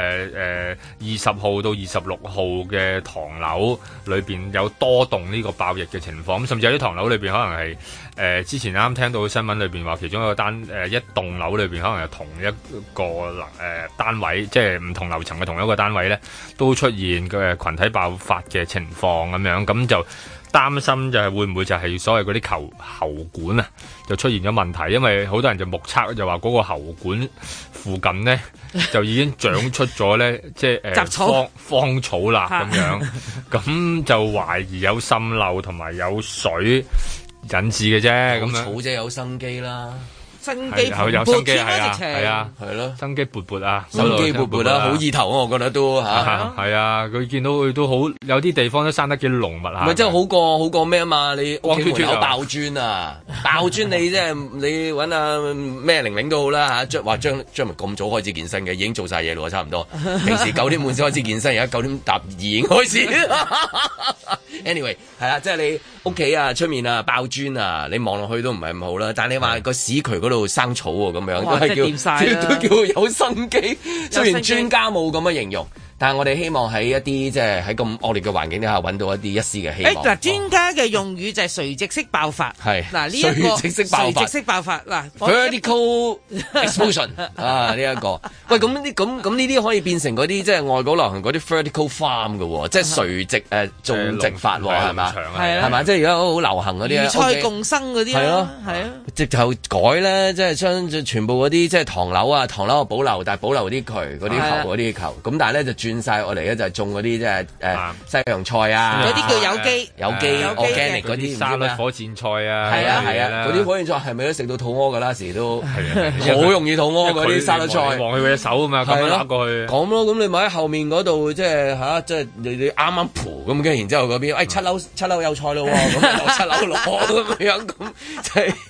20號到26號嘅唐樓裏邊有多棟呢個爆疫嘅情況。咁甚至有啲唐樓裏邊可能係之前啱聽到新聞裏邊話，其中一個一棟樓裏邊可能係同一個單位，即係唔同樓層嘅同一個單位咧，都出現嘅群體爆發嘅情況咁樣，咁就擔心就係會唔會就係所謂嗰啲喉管啊，就出現咗問題，因為好多人就目測就話嗰個喉管附近咧就已經長出咗咧，即係荒草啦咁樣，咁就懷疑有滲漏同埋有水引致嘅啫，咁樣草啫有生機啦。 生機有生機係啊， 係咯， 生機勃勃啊， 生機勃勃啦，好意頭啊，我覺得都嚇。 係啊，佢見到佢都好，有啲地方都生得幾濃密嚇。 唔係，真係好過咩啊嘛？你屋企門口爆磚啊，爆磚你即係你揾阿咩玲玲都好啦嚇，話張文咁早開始健身嘅，已經做晒嘢咯，差唔多。平時9點半先開始健身，而家9點搭2已經開始。Anyway， 係啦，即係你屋企啊、出面啊爆磚啊，你望落去都唔係咁好啦。但係你話個屎渠嗰度生草喎，咁樣都係都叫有生機。雖然專家冇咁嘅形容，但係我哋希望喺一啲即係喺咁惡劣嘅環境底下揾到一絲嘅希望。 嗱，專家嘅用語就係垂直式爆發。 係嗱，呢一個垂直式爆發嗱 ，vertical explosion 啊呢一個。喂，咁呢啲可以變成嗰啲即係外國流行嗰啲 vertical farm 嘅喎，即係垂直種植法喎，係嘛？係嘛？即係而家好流行嗰啲魚菜共生嗰啲係咯，係啊。 直頭改咧，即係將全部嗰啲即係唐樓啊，唐樓保留，但係保留啲渠嗰啲喉嗰啲球。咁但係咧就轉晒我嚟咧就係種嗰啲即係西洋菜啊， 嗰啲叫有機 organic 嗰啲沙律火箭菜啊， 係啊，嗰啲火箭菜係咪都食到肚屙㗎啦？時都好容易肚屙嗰啲沙律菜， 望佢隻手啊嘛，咁樣揦過去。 講咯，咁你咪喺後面嗰度即係嚇，即係你啱啱蒲咁嘅，然之後嗰邊七樓有菜咯喎，咁落7樓攞咁樣咁即係。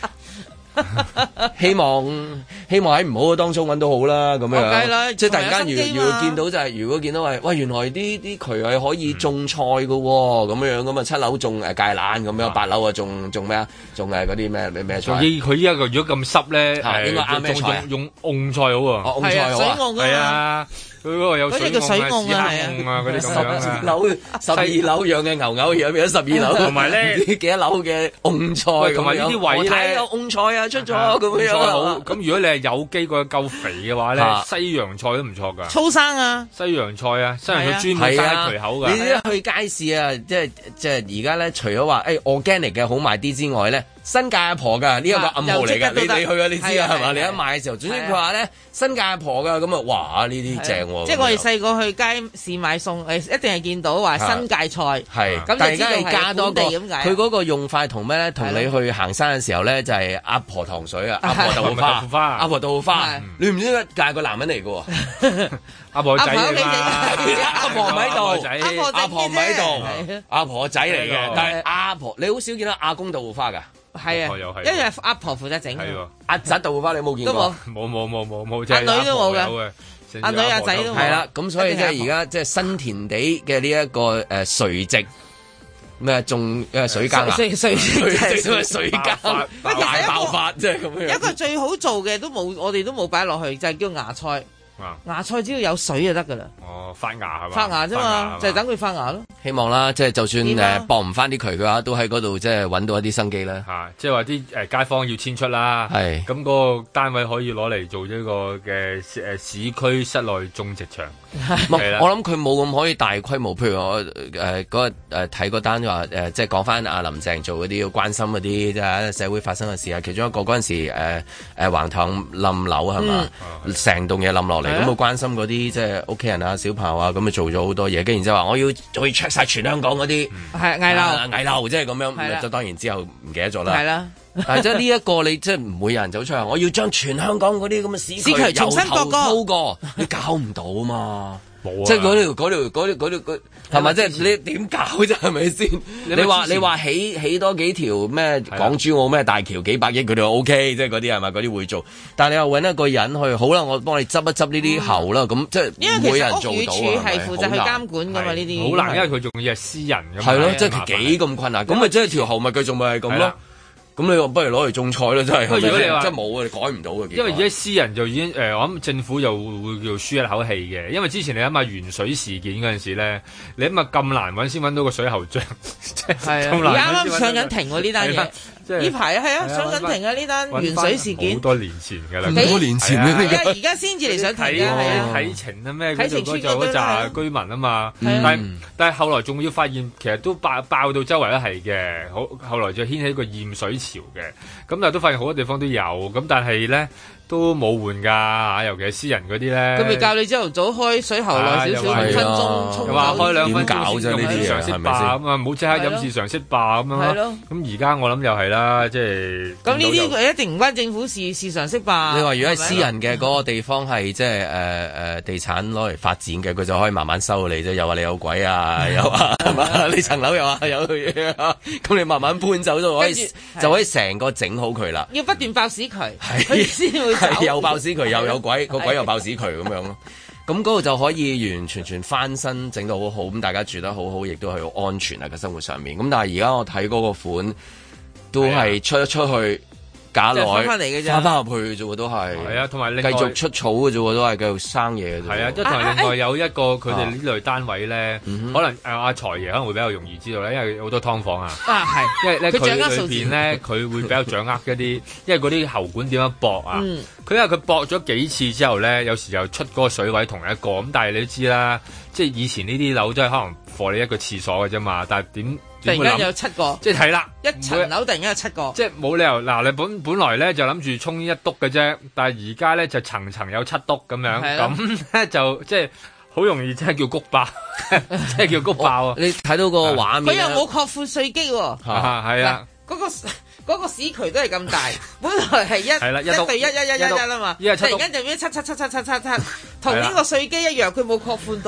希望喺唔好嘅當中揾到好啦，咁樣即係突然間如果見到就係如果見到係喂原來啲渠係可以種菜嘅喎，咁樣咁啊7樓種芥蘭咁樣，8樓啊種咩啊？種嗰啲咩菜？ 佢依家如果咁濕咧， 應該啱咩菜？ 用蕹菜好喎， 蕹菜好啊， 係啊。 佢嗰個有嗰隻叫水甕啊， 係啊，嗰啲咁樣啊。 十二樓養嘅牛牛而家變咗12樓， 同埋咧幾多樓嘅甕菜， 同埋呢啲位咧有甕菜啊出咗咁樣好。咁如果你係有機個夠肥嘅話咧，西洋菜都唔錯㗎。 粗生啊， 西洋菜啊，西洋菜專門生喺渠口㗎。 你一去街市啊，即係而家咧，除咗話organic 嘅好賣啲之外咧。新界阿婆㗎呢一個暗號嚟㗎，你去啊，你知啊係嘛？你一買嘅時候，總之佢話咧新界阿婆㗎，咁啊哇呢啲正喎！ 即係我哋細個去街市買餸，一定係見到話新界菜， 係咁就知道係本地咁解。 佢嗰個用法同咩咧？同你去行山嘅時候咧，就係阿婆糖水啊，阿婆豆腐花，阿婆豆腐花，你唔知點解係個男人嚟㗎喎？ 阿婆仔阿婆唔喺度，阿婆唔喺度，阿婆仔嚟嘅，但係阿婆你好少見到阿公豆腐花㗎。 係啊，因為阿婆負責整。 阿侄豆腐花你冇見過？ 冇， 阿女都冇嘅。阿女阿仔都冇。 係啦，咁所以即係而家即係新田地嘅呢一個垂直咩種水耕啊？水耕大爆發即係咁樣。 一個最好做嘅都冇，我哋都冇擺落去，就係叫芽菜。芽菜只要有水就得噶啦。 哦，發芽係嘛？ 發芽啫嘛，就係等佢發芽咯。 希望啦，即係就算駁唔翻啲渠嘅話，都喺嗰度即係揾到一啲生機啦。 嚇，即係話啲街坊要遷出啦。係。咁嗰個單位可以攞嚟做呢個嘅市區室內種植場。 我諗佢冇咁可以大規模，譬如我嗰日睇嗰單話即係講翻阿林鄭做嗰啲要關心嗰啲即係社會發生嘅事啊。其中一個嗰陣時橫塘冧樓係嘛，成棟嘢冧落嚟。咁我關心嗰啲即係屋企人啊、小朋友啊，咁啊做咗好多嘢，跟住然之後話我要 check 晒全香港嗰啲危樓，即係咁樣，就當然之後唔記得咗啦。係啦，但係即係呢一個你即係唔會有人走出嚟，我要將全香港嗰啲咁嘅市區重新鋪過，你搞唔到啊嘛。即係嗰條係咪？即係你點搞啫？係咪先？你話起多幾條咩港珠澳咩大橋幾百億佢哋 OK， 即係嗰啲係咪？嗰啲會做。但係你又揾一個人去，好啦，我幫你執一執呢啲喉啦。咁即係唔會有人做到。因為其實屋宇署係負責去監管㗎嘛呢啲。好難， 因為佢仲要係私人㗎嘛。 係咯，即係幾咁困難。咁咪即係條喉咪繼續咪係咁咯。咁你話不如攞嚟種菜咯，真係。如果你話真係冇啊，你改唔到嘅。 因為而家私人就已經我諗政府又會叫舒一口氣嘅。因為之前你諗下鉛水事件嗰陣時咧，你諗下咁難揾先揾到個水喉匠，即係咁難。 啱啱上緊庭喎呢單嘢。呢排上緊庭啊！呢單鉛水事件好多年前㗎啦， 好多年前而家先至嚟上庭嘅，係啊， 啟晴啊咩？啟晴村嗰扎居民啊嘛，但係後來仲要發現，其實都爆到周圍都係嘅。後來就掀起一個驗水潮嘅，咁但係都發現好多地方都有，咁但係咧都冇換㗎，尤其係私人嗰啲咧。 佢咪教你朝頭早開水喉耐少少5分鐘沖， 又話開2分鐘搞啫呢啲常識霸咁啊，唔好即刻飲事常識霸咁樣咯。咁而家我諗又係啦，即係咁呢啲佢一定唔關政府事常識霸。 你話如果係私人嘅嗰個地方係即係地產攞嚟發展嘅，佢就可以慢慢收你啫。又話你有鬼啊，又話係嘛？你層樓又話有嘢啊，咁你慢慢搬走就可以成個整好佢啦。 要不斷爆屎渠，佢先會。 係又爆屎渠又有鬼，個鬼又爆屎渠咁樣咯。咁嗰度就可以完全翻新，整到好好，咁大家住得好好，亦都係好安全啊嘅生活上面。咁但係而家我睇嗰個款都係出一出去。假來翻嚟嘅啫，翻入去啫喎，都係。係啊，同埋繼續出草嘅啫喎，都係繼續生嘢嘅啫。係啊，即係同埋另外有一個佢哋呢類單位咧，可能阿財爺可能會比較容易知道咧，因為好多劏房啊。啊，係。因為咧佢裏邊咧，佢會比較掌握一啲，因為嗰啲喉管點樣駁啊。佢因為佢駁咗幾次之後咧，有時又出嗰個水位同一個，咁但係你都知啦，即係以前呢啲樓都係可能放你一個廁所嘅啫嘛，但係點？ 突然間有7個， 即係睇啦， 一層樓突然間有7個， 即係冇理由嗱，你本來咧就諗住沖一篤嘅啫，但係而家咧就層層有7篤咁樣，咁咧就即係好容易，即係叫谷爆，即係叫谷爆啊！ 你睇到個畫面， 佢又冇擴闊稅基喎， 係啊， 嗰個屎渠都係咁大，本來係1對1啊嘛，突然間就變7，同呢個稅基一樣，佢冇擴寬到啊！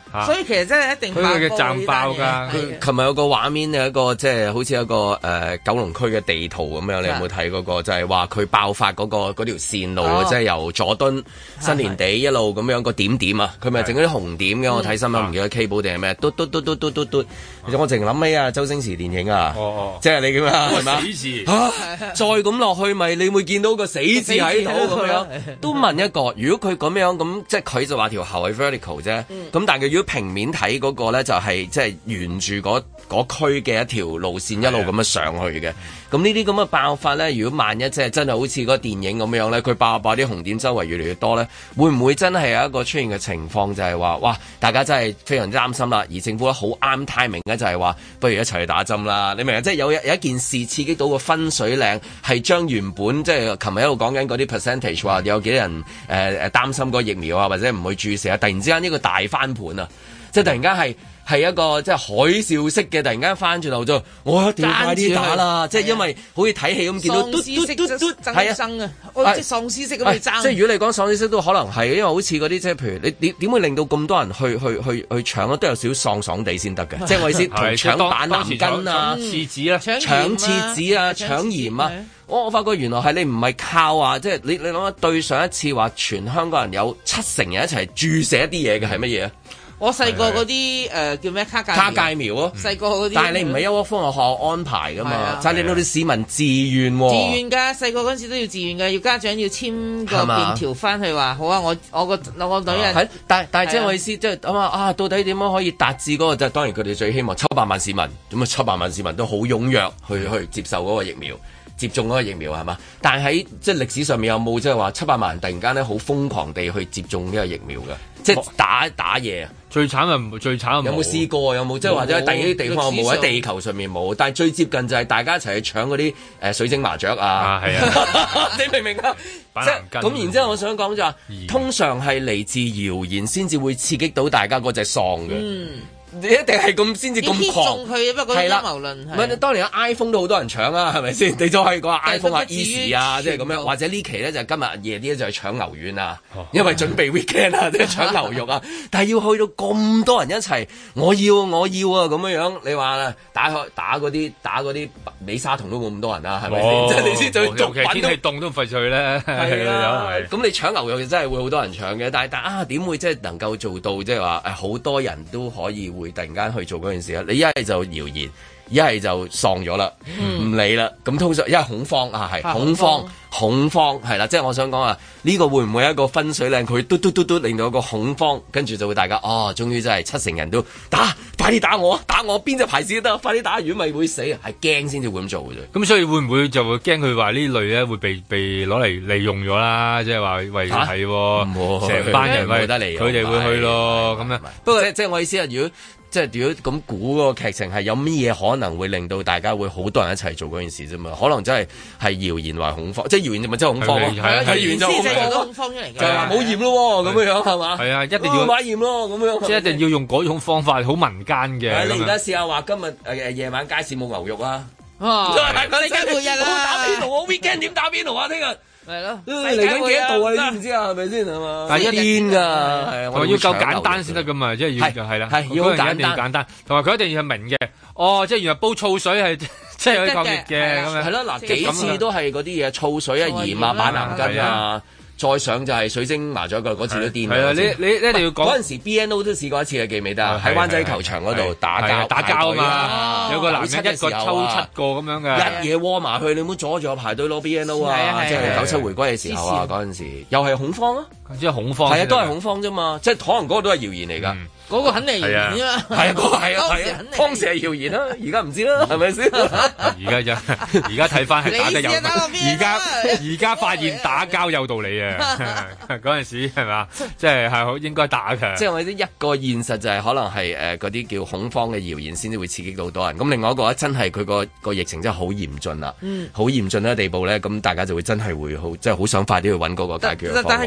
所以其實真係一定爆佢嘅站爆㗎。 佢琴日有個畫面有一個即係好似一個九龍區嘅地圖咁樣，你有冇睇嗰個？就係話佢爆發嗰條線路，即係由佐敦新年地一路咁樣個點點啊，佢咪整嗰啲紅點嘅。我睇新聞唔記得 K 寶定係咩？嘟。其實我淨諗起啊，周星馳電影啊，即係你咁啊，係咪？死字再咁落去咪你會見到個死字喺度咁樣。都問一個，如果佢咁樣咁，即係佢就話條喉係 vertical 啫。咁但係如果平面睇嗰個咧，就係即係沿住嗰區嘅一條路線一路咁樣上去嘅。咁呢啲咁嘅爆發咧，如果萬一即係真係好似嗰個電影咁樣咧，佢爆啲紅點周圍越嚟越多咧，會唔會真係有一個出現嘅情況，就係話哇，大家真係非常之擔心啦。而政府咧好啱 timing 咧，就係話不如一齊去打針啦。你明啊？即係有一件事刺激到個分水嶺，係將原本即係琴日一路講緊嗰啲 percentage 話有幾多人擔心個疫苗啊，或者唔去注射啊，突然之間呢個大翻盤啊！即係突然間係一個即係海嘯式嘅，突然間翻轉頭就我一定要快啲打啦！即係因為好似睇戲咁見到喪屍式爭爭啊！即係喪屍式咁去爭。 即係如果你講喪屍式都可能係，因為好似嗰啲即係譬如你點會令到咁多人去搶咧？都有少少喪地先得嘅。即係我意思同搶板藍根啊、 廁紙啦、 搶廁紙啊、搶鹽啊。我發覺原來係你唔係靠話，即係你諗下對上一次話全香港人有70%人一齊注射一啲嘢嘅係乜嘢啊？ 我細個嗰啲叫咩卡介苗咯， 細個嗰啲。 但係你唔係一窩蜂學校安排噶嘛，就係令到啲市民自願喎。 自願㗎，細個嗰陣時都要自願㗎，要家長要簽個便條翻去話好啊，我個女人。 但係即係我意思，即係諗下到底點樣可以達至嗰個？就當然佢哋最希望700萬市民，咁啊700萬市民都好踴躍去接受嗰個疫苗。接種嗰個疫苗係嘛？但係喺即係歷史上面有冇即係話700萬人突然間咧好瘋狂地去接種呢個疫苗嘅？即係打嘢啊！ 最慘有冇試過？有冇即係或者喺第二啲地方有冇？喺地球上面冇。但係最接近就係大家一齊去搶嗰啲水晶麻雀啊！係啊！你明唔明啊？咁然之後我想講就話，通常係嚟自謠言先至會刺激到大家嗰隻喪嘅。你一定係咁先至咁狂， 係啦，陰謀論唔係當年 iPhone 都好多人搶啊，係咪先？你就可以講 iPhone 啊、Easy 啊，即係咁樣，或者呢期咧就今日夜啲咧就係搶牛丸啊，因為準備 weekend 啊，即係搶牛肉啊。但係要去到咁多人一齊，我要啊咁樣，你話打嗰啲美沙酮都冇咁多人啊，係咪先？即係你先最尤其天氣凍都費事去咧。係啊， 咁你搶牛肉真係會好多人搶嘅，但係點會即係能夠做到即係話好多人都可以會突然間去做嗰件事啊？你一係就謠言，一係就喪咗啦，唔理啦。咁通常因為恐慌啊，係恐慌係啦。即係我想講啊，呢個會唔會一個分水嶺？佢嘟令到一個恐慌，跟住就會大家終於真係70%人都打，快啲打我邊隻牌子都得，快啲打完咪會死，係驚先至會咁做嘅啫。 咁所以會唔會就會驚佢話呢類咧會被攞嚟利用咗啦？即係話為係成班人佢哋會去咯咁樣。 不過即係我意思係，如果咁估嗰個劇情係有乜嘢可能會令到大家會好多人一齊做嗰件事啫嘛？可能真係謠言話恐慌，即係謠言就咪真係恐慌咯。係謠言就恐慌出嚟嘅，就係話冇驗咯咁樣係嘛？係啊，一定要買驗咯咁樣， 即係一定要用嗰種方法，好民間嘅。 你而家試下話今日夜晚街市冇牛肉啊！ 你今日日啊，打邊爐，我 weekend 點打邊爐啊？聽日。 係咯， 嚟緊幾多度啊？你知唔知啊？係咪先係嘛？ 但係一癲㗎， 係要夠簡單先得㗎嘛，即係要係啦， 係要簡單，同埋佢一定要明嘅。即係原來煲醋水係即係可以抗疫嘅咁樣。 係咯，嗱幾次都係嗰啲嘢，醋水啊、鹽啊、板藍根啊。再上就係水晶麻雀嗰次都癲。 係啊，你一定要講嗰陣時 BNO 都試過一次嘅，記唔記得啊？喺灣仔球場嗰度打交啊嘛，有個男人一個抽7個咁樣嘅，一嘢窩埋去，你唔好阻住我排隊攞 BNO 啊！即係97回歸嘅時候啊，嗰陣時又係恐慌啊， 即係恐慌， 係啊，都係恐慌啫嘛，即係可能嗰個都係謠言嚟㗎。 嗰個肯定係謠言啊！ 係啊，當時係謠言啦，而家唔知啦，係咪先？ 而家睇翻係打得有道理，而家發現打交有道理啊！嗰陣時係嘛，即係好應該打嘅。 即係我哋一個現實就係可能係嗰啲叫恐慌嘅謠言先至會刺激到多人。咁另外一個真係佢個疫情真係好嚴峻啦，好嚴峻嘅地步咧，咁大家就會真係會好即係好想快啲去揾嗰個解決方案。 但係經歷咗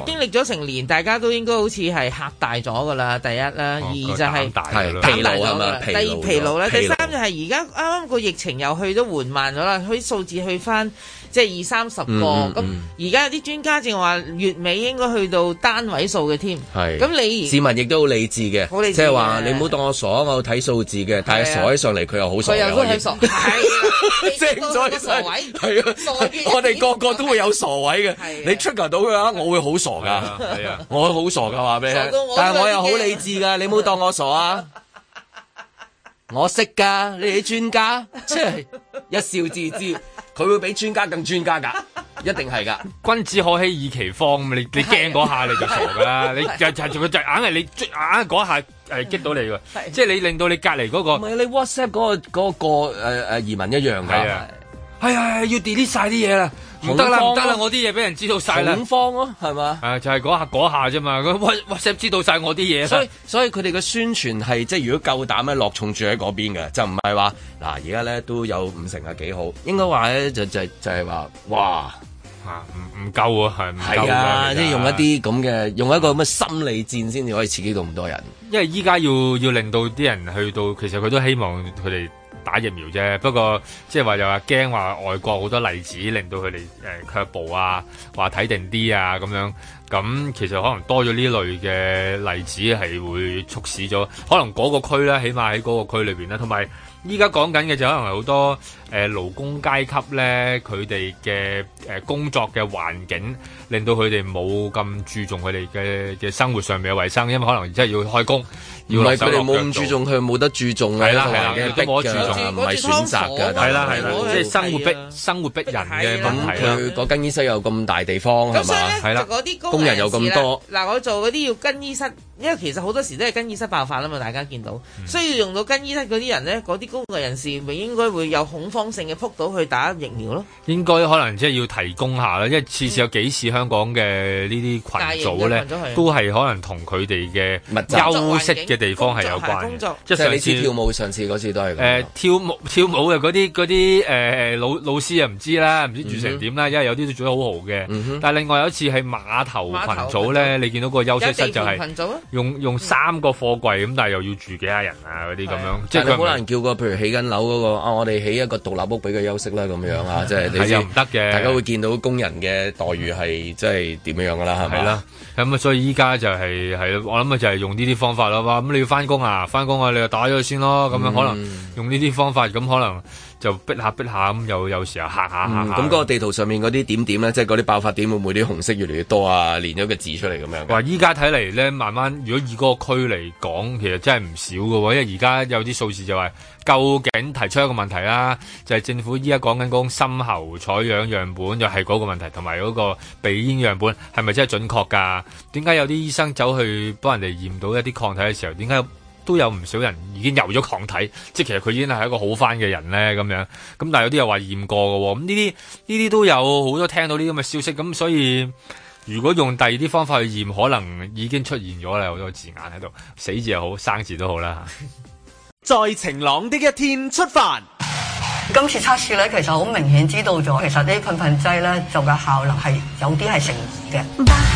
成年，大家都應該好似係嚇大咗噶啦。第一啦，二就係疲勞係嘛？ 第二疲勞啦，第三就係而家啱啱個疫情又去得緩慢咗啦，佢數字去翻即係20-30個。咁而家有啲專家正話月尾應該去到單位數嘅添。係咁你市民亦都好理智嘅，即係話你唔好當我傻，我睇數字嘅，但係傻起上嚟佢又好傻嘅。佢又好傻，係正咗傻位，係啊，我哋個個都會有傻位嘅。你 trigger 到嘅話，我會好傻噶，係啊，我會好傻噶話俾你聽。但係我又好理智噶，你唔好當我傻啊！我識噶，你哋專家，即係一笑置之，佢會比專家更專家噶，一定係噶。 君子可欺耳其方，你驚嗰下你就傻噶啦，你就硬係你硬嗰下係激到你㗎，即係你令到你隔離嗰個。唔係你 WhatsApp 嗰個移民一樣㗎。係啊，要 delete 晒啲嘢啦，唔得啦，我啲嘢俾人知道晒啦， 恐慌咯，係嘛？ 就係嗰下啫嘛，佢 WhatsApp 知道晒我啲嘢， 所以佢哋嘅宣傳係即係如果夠膽咧落重注喺嗰邊嘅，就唔係話嗱而家咧都有50%係幾好，應該話咧就係話哇唔夠啊，係唔夠啊，即係用一啲咁嘅用一個咁嘅心理戰先至可以刺激到咁多人， 因為依家要令到啲人去到，其實佢都希望佢哋打疫苗啫，不過即係話又話驚話外國好多例子令到佢哋卻步啊，話睇定啲啊咁樣，咁其實可能多咗呢類嘅例子係會促使咗，可能嗰個區咧，起碼喺嗰個區裏邊咧，同埋依家講緊嘅就可能係好多勞工階級咧，佢哋嘅工作嘅環境令到佢哋冇咁注重佢哋嘅生活上面嘅衞生，因為可能真係要開工。唔係佢哋冇咁注重，佢冇得注重嘅，都冇得注重，唔係選擇嘅，係啦，即係生活逼人嘅問題啦。佢嗰間醫室有咁大地方係嘛？係啦，工人有咁多。 嗱，我做嗰啲要更衣室，因為其實好多時都係更衣室爆發啦嘛，大家見到需要用到更衣室嗰啲人咧，嗰啲工作人士咪應該會有恐慌性嘅撲到去打疫苗咯。應該可能即係要提供下啦，因為次有幾次香港嘅呢啲群組咧，都係可能同佢哋嘅休息嘅地方係有關嘅，即係你知跳舞上次嗰次都係跳舞嘅嗰啲老師啊唔知啦，唔知住成點啦，因為有啲都做得好好嘅。但係另外有一次係碼頭群組咧，你見到個休息室就係用3個貨櫃咁，但係又要住幾下人啊嗰啲咁樣，即係佢好難叫個譬如起緊樓嗰個我哋起一個獨立屋俾佢休息啦咁樣啊，即係你知唔得嘅， 大家會見到工人嘅待遇係即係點樣噶啦，係咪？ 係啦，咁啊，所以依家就係我諗就係用呢啲方法啦。咁你要翻工啊，你就打咗佢先咯。咁樣可能用呢啲方法，咁可能就逼下咁，有時候嚇下。 咁嗰個地圖上面嗰啲點點咧，即係嗰啲爆發點會唔會啲紅色越嚟越多啊？連咗個字出嚟咁樣。 話依家睇嚟咧，慢慢如果以嗰個區嚟講，其實真係唔少㗎喎。因為而家有啲數字就話，究竟提出一個問題啦，就係政府依家講緊嗰種深喉採樣樣本，又係嗰個問題，同埋嗰個鼻咽樣本係咪真係準確㗎？點解有啲醫生走去幫人哋驗到一啲抗體嘅時候，點解都有唔少人已經有咗抗體？即係其實佢已經係一個好返嘅人咧咁樣。咁但係有啲又話驗過嘅喎。咁呢啲都有好多聽到呢啲咁嘅消息。咁所以如果用第二啲方法去驗，可能已經出現咗啦，好多字眼喺度，死字又好，生字都好啦。 在晴朗的一天出發。 今次測試咧，其實好明顯知道咗，其實呢啲噴噴劑咧就嘅效能係有啲係成疑嘅。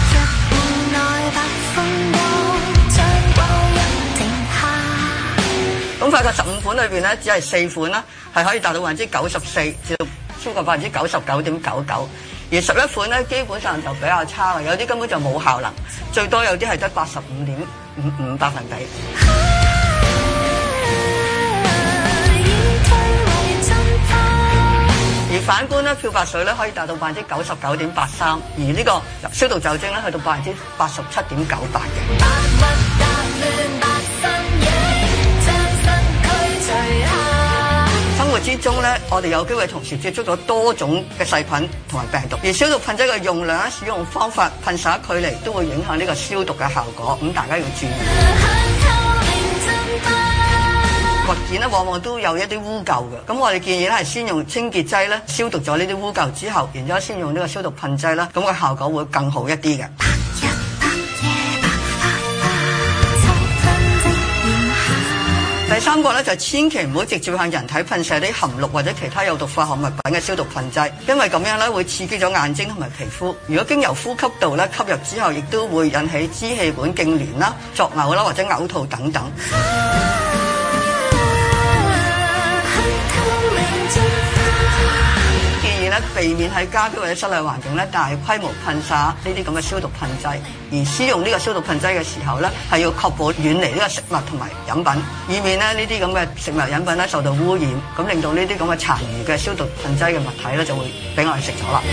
咁發覺15款裏邊咧，只係4款啦，係可以達到94%至到超過99.99%，而11款咧基本上就比較差，有啲根本就冇效能，最多有啲係得85.55%。而反觀咧，漂白水咧可以達到99.83%，而呢個消毒酒精咧去到87.98%嘅。生活之中咧，我哋有機會同時接觸到多種嘅細菌同埋病毒，而消毒噴劑嘅用量、使用方法、噴灑距離都會影響呢個消毒嘅效果，咁大家要注意。物件咧往往都有一啲污垢嘅，咁我哋建議咧係先用清潔劑咧消毒咗呢啲污垢之後，然之後先用呢個消毒噴劑啦，咁個效果會更好一啲嘅。第3 3個咧就千祈唔好直接向人體噴射啲含氯或者其他有毒化學物品嘅消毒噴劑，因為咁樣咧會刺激咗眼睛同埋皮膚。如果經由呼吸道咧吸入之後，亦都會引起支氣管痙攣啦、作嘔啦或者嘔吐等等。避免喺家居或者室內環境咧大規模噴灑呢啲咁嘅消毒噴劑，而使用呢個消毒噴劑嘅時候咧，係要確保遠離呢個食物同埋飲品，以免咧呢啲咁嘅食物飲品咧受到污染，咁令到呢啲咁嘅殘餘嘅消毒噴劑嘅物體咧就會俾我哋食咗啦。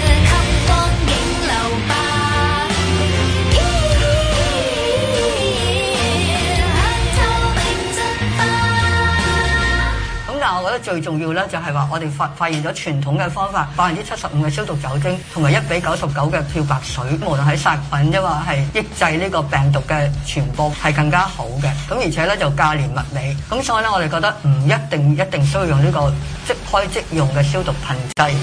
但我覺得最重要咧，就係話我哋發現咗傳統嘅方法，75%嘅消毒酒精同埋1:99嘅漂白水，無論喺殺菌，抑或係抑制呢個病毒嘅傳播，係更加好嘅。咁而且咧就價廉物美，咁所以咧我哋覺得唔一定需要用呢個即開即用嘅消毒噴劑。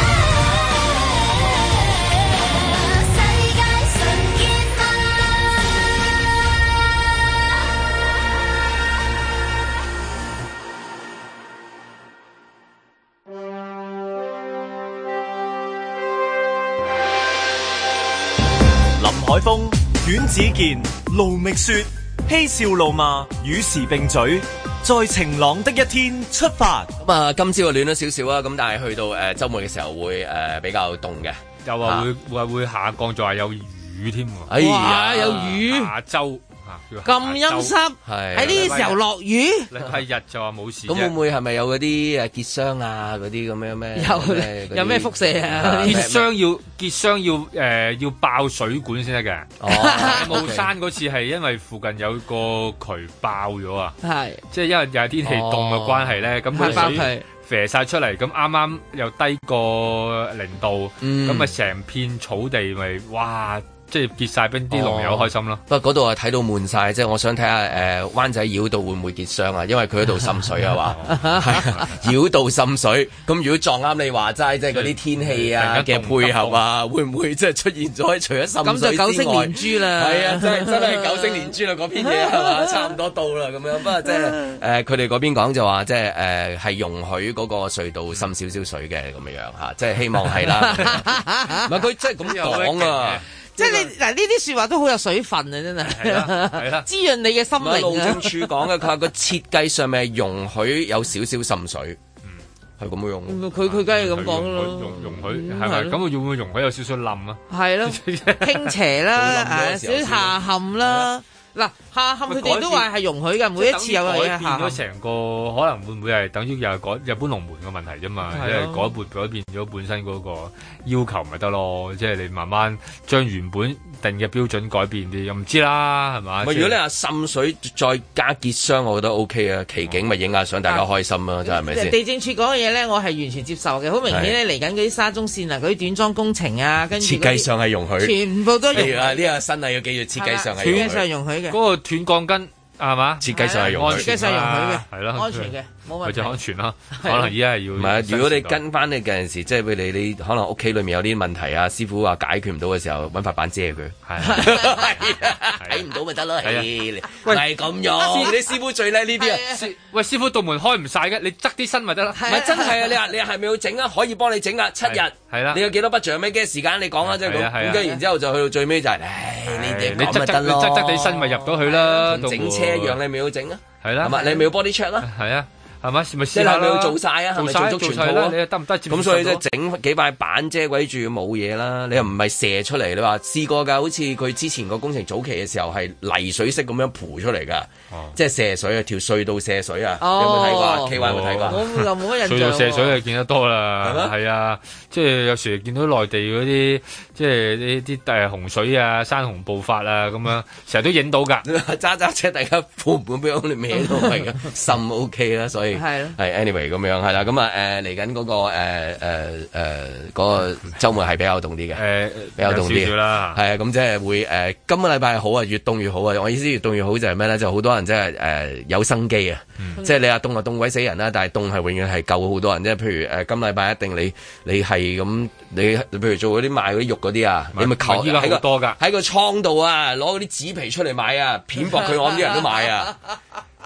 海風、阮子健、盧覓雪，嬉笑怒罵，與時並舉，在晴朗的一天出發。 咁啊，今朝就暖咗少少啊，咁但係去到週末嘅時候會比較凍嘅， 又話會下降，仲話有雨添喎。 哎呀， 有雨， 下週。 咁陰濕，喺呢個時候落雨， 禮拜日就話冇事。咁會唔會係咪有嗰啲結霜啊？嗰啲咁樣咩？ 有咩輻射啊？ 結霜要爆水管先得嘅。霧山嗰次係因為附近有個渠爆咗啊，即係因為又係天氣凍嘅關係咧，咁佢水射晒出嚟，咁啱啱又低過0度，咁啊成片草地咪哇！即係結晒冰，啲龍友開心咯。 不過嗰度啊睇到悶晒，即係我想睇下灣仔繞道會唔會結霜啊？因為佢嗰度滲水啊嘛，繞道滲水。咁如果撞啱你話齋，即係嗰啲天氣啊嘅配合啊，會唔會即係出現咗除咗滲水之外？ 咁就九星連珠啦。 係啊，真係九星連珠啦！嗰篇嘢係嘛，差唔多到啦咁樣。不過即係佢哋嗰邊講就話，即係係容許嗰個隧道滲少少水嘅咁樣嚇，即係希望係啦。唔係佢即係咁講啊。 即係你嗱呢啲説話都好有水分啊！真係，係啦，滋潤你嘅心靈啊！ 路政署講嘅，佢話個設計上面係容許有少少滲水，係咁樣用。 佢梗係咁講咯。 容許係咪？咁會唔會容許有少少冧啊？係咯，傾斜啦，少少下陷啦。嗱，下陷佢哋都話係容許嘅，每一次有嘢下陷。 改變咗成個，可能會唔會係等於又係日本龍門嘅問題啫嘛？因為改變咗本身嗰個要求咪得咯，即係你慢慢將原本定嘅標準改變啲，又唔知啦，係嘛？ 如果你話滲水再加結霜，我覺得 OK 啊，奇景咪影下相，大家開心啊，真係咪先？ 地政處講嘅嘢咧，我係完全接受嘅，好明顯咧，嚟緊嗰啲沙中線啊，嗰啲短裝工程啊，跟住設計上係容許， 全部都容許。 呢個新例要記住，設計上係容許。 嗰個斷鋼筋係嘛？ 設計上係容許， 設計上容許嘅， 係咯， 安全嘅，冇問題。 就安全啦。可能而家係要。 唔係啊，如果你跟翻你嗰陣時，即係譬如你可能屋企裏面有啲問題啊，師傅話解決唔到嘅時候，揾塊板遮佢。睇唔到咪得咯。係咁樣。你師傅最叻呢啲啊。 喂，師傅道門開唔晒嘅，你側啲身咪得啦。 唔係真係啊！你係咪要整啊？可以幫你整啊，7日。係啦。你有幾多筆獎咩？幾多時間？你講啊，即係咁。咁跟然之後就去到最尾就係，你側地身咪入到去啦。 同整車一樣，你咪要整啊。 係啦。 係咪？你咪要 body check 啦。 係啊。係咪？咪試下要做晒啊？係咪做足全套啊？ 你得唔得？ 咁所以即係整幾塊板遮鬼住冇嘢啦。你又唔係射出嚟？你話試過㗎？好似佢之前個工程早期嘅時候係泥水式咁樣鋪出嚟㗎，即係射水啊，條隧道射水啊，有冇睇過？K Y 有冇睇過？ 我又冇乜印象。 隧道射水係見得多啦，係啊，即係有時見到內地嗰啲，即係呢啲洪水啊、山洪暴發啊咁樣，成日都影到㗎。 揸車大家判唔判俾我哋咩都係㗎，心 OK 啦，所以係 anyway 咁樣係啦，咁啊嚟緊嗰個嗰個週末係比較凍啲嘅，比較凍啲啦，係啊，咁即係會今個禮拜好啊，越凍越好啊！我意思越凍越好就係咩咧？就好多人即係有生機啊！即係你話凍就凍鬼死人啦，但係凍係永遠係救好多人，即係譬如今禮拜一定你係咁，你譬如做嗰啲賣嗰啲肉嗰啲啊，你咪求喺個倉度啊，攞嗰啲紙皮出嚟買啊，片薄佢，我諗啲人都買啊！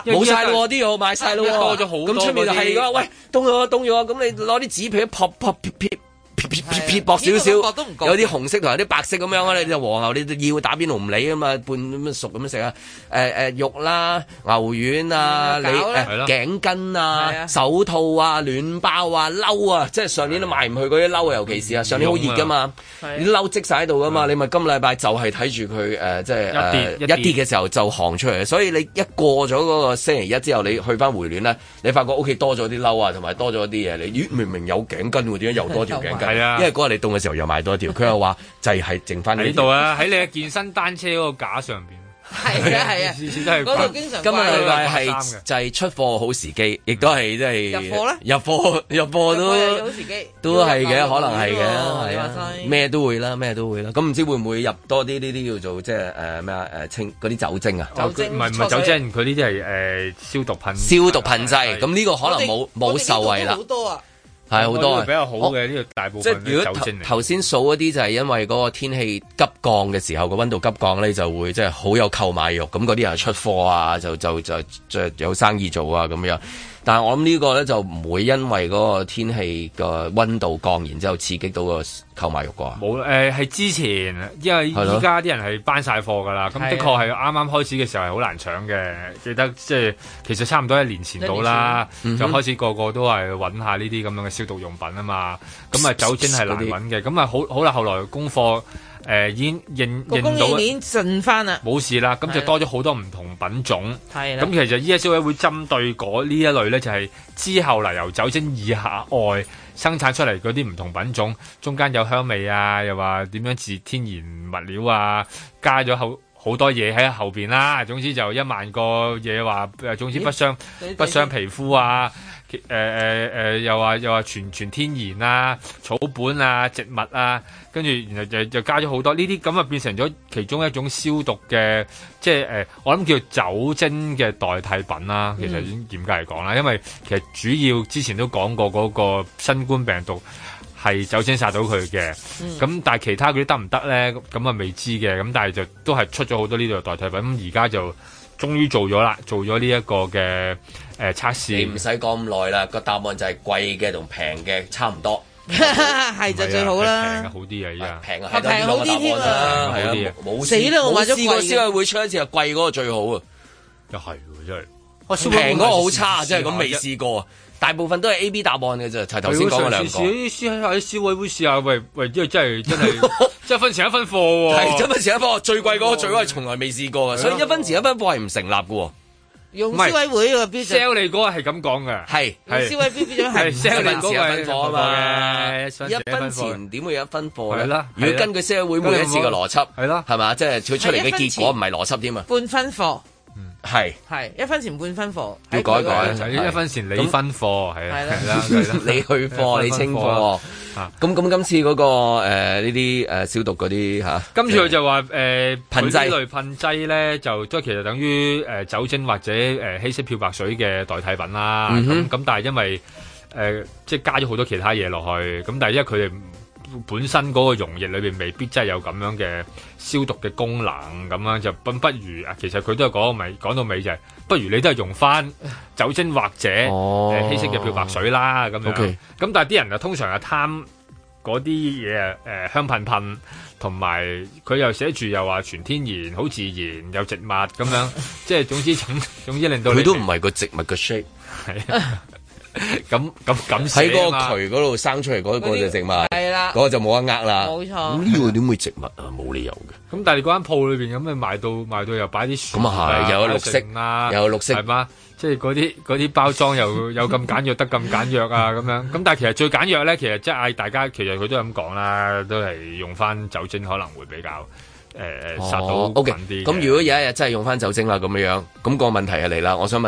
冇晒咯，啲嘢賣晒咯， 多咗好多。 咁出面就係㗎，喂，凍咗，咁你攞啲紙皮撇薄少少，有啲紅色同有啲白色咁樣啊！你就和牛，你要打邊爐唔理啊嘛，半咁熟咁樣食啊！肉啦、牛丸啊、頸巾啊、手套啊、暖包啊、褸啊，即係上年都賣唔去嗰啲褸啊，尤其是啊，上年好熱噶嘛，啲褸積晒喺度噶嘛，你咪今禮拜就係睇住佢即係一跌嘅時候就行出嚟，所以你一過咗嗰個星期一之後，你去翻回暖咧，你發覺屋企多咗啲褸啊，同埋多咗啲嘢，你明明有頸巾喎，點解又多條頸巾？係啊，因為嗰日你凍嘅時候又買多一條，佢又話就係剩翻喺度啊，喺你嘅健身單車嗰個架上邊。 係啊，次次都係嗰度經常。今日禮拜係就係出貨好時機，亦都係即係入貨咧。 入貨都好時機， 都係嘅，可能係嘅，係啊，咩都會啦。咁唔知會唔會入多啲呢啲叫做即係咩啊？清嗰啲酒精啊？ 唔係酒精，佢呢啲係消毒噴劑。咁呢個可能冇受惠啦。 好多啊！ 係好多比較好嘅呢個大部分嘅酒精嚟。 頭先數嗰啲就係因為嗰個天氣急降嘅時候，個溫度急降咧，就會即係好有購買欲，咁嗰啲人出貨啊，就有生意做啊咁樣。但係我諗呢個咧就唔會因為嗰個天氣個溫度降，然之後刺激到個購買欲啩。 冇係之前，因為依家啲人係班晒貨㗎啦，咁的確係啱啱開始嘅時候係好難搶嘅。記得即係其實差唔多1年前到啦，就開始個個都係揾下呢啲咁樣嘅消毒用品啊嘛。咁啊酒精係難揾嘅，咁啊好啦，後來供貨。已經認到供應鏈順翻啦， 冇事啦，咁就多咗好多唔同品種。 係啦， 咁其實依家消委會針對嗰呢一類咧，就係之後嚟由酒精以下外生產出嚟嗰啲唔同品種，中間有香味啊，又話點樣自天然物料啊，加咗好多嘢喺後邊啦。總之就1萬個嘢話，總之不傷皮膚啊。又話全天然啊，草本啊，植物啊，跟住然後就加咗好多呢啲，咁啊變成咗其中一種消毒嘅，即係我諗叫酒精嘅代替品啦。其實嚴格嚟講啦，因為其實主要之前都講過嗰個新冠病毒係酒精殺到佢嘅，咁但係其他嗰啲得唔得咧？咁啊未知嘅，咁但係就都係出咗好多呢度嘅代替品，咁而家就終於做咗啦，做咗呢一個嘅測試。 你唔使講咁耐啦，個答案就係貴嘅同平嘅差唔多， 係就最好啦。 平嘅好啲啊，依家平係平好啲添啊， 係啊，冇死啦！我買咗貴嘅。 試過消委會出一次係貴嗰個最好啊， 又係真係。 平嗰個好差，真係咁未試過。大部分都係 A、B 答案嘅啫，係頭先講嘅兩個。 喺消委會試下，喂，因為真係1分錢1分貨喎。 係1分錢1分貨，最貴嗰個最貴係從來未試過嘅，所以1分錢1分貨係唔成立嘅喎。 用消委會個標準 sell 你嗰個係咁講嘅， 係消委會標準係 1分錢 1分貨啊嘛。1分錢點會有1分貨咧？如果根據消委會每一次嘅邏輯，係咯，係嘛？即係佢出嚟嘅結果唔係邏輯添啊。 半分貨。 係 1分錢半分貨， 要改 1分錢你分貨，係啦， 你去貨你清貨。咁今次嗰個呢啲消毒嗰啲嚇， 今次佢就話噴劑類噴劑咧，就都其實等於酒精或者稀釋漂白水嘅代替品啦。咁但係因為即係加咗好多其他嘢落去，咁但係因為佢哋本身嗰個溶液裏邊未必真係有咁樣嘅消毒嘅功能，咁樣就不如啊，其實佢都係講到尾就係，不如你都係用翻酒精或者稀釋嘅漂白水啦，咁樣。咁但係啲人啊，通常係貪嗰啲嘢香噴噴，同埋佢又寫住又話全天然、好自然、有植物咁樣，即係總之令到你佢都唔係個植物嘅 shape。係。 咁喺嗰個渠嗰度生出嚟嗰個就植物，係啦，嗰個就冇得呃啦。 冇錯。 咁呢個點會植物啊？冇理由嘅。 咁但係你嗰間鋪裏邊咁，你賣到又擺啲樹， 咁啊係，又有綠色啊， 又有綠色係嘛？即係嗰啲包裝又有咁簡約得咁簡約啊咁樣。咁但係其實最簡約咧，其實即係嗌大家，其實佢都係咁講啦，都係用翻酒精可能會比較殺到緊啲。 咁如果有一日真係用翻酒精啦咁樣，咁個問題係嚟啦。我想問就係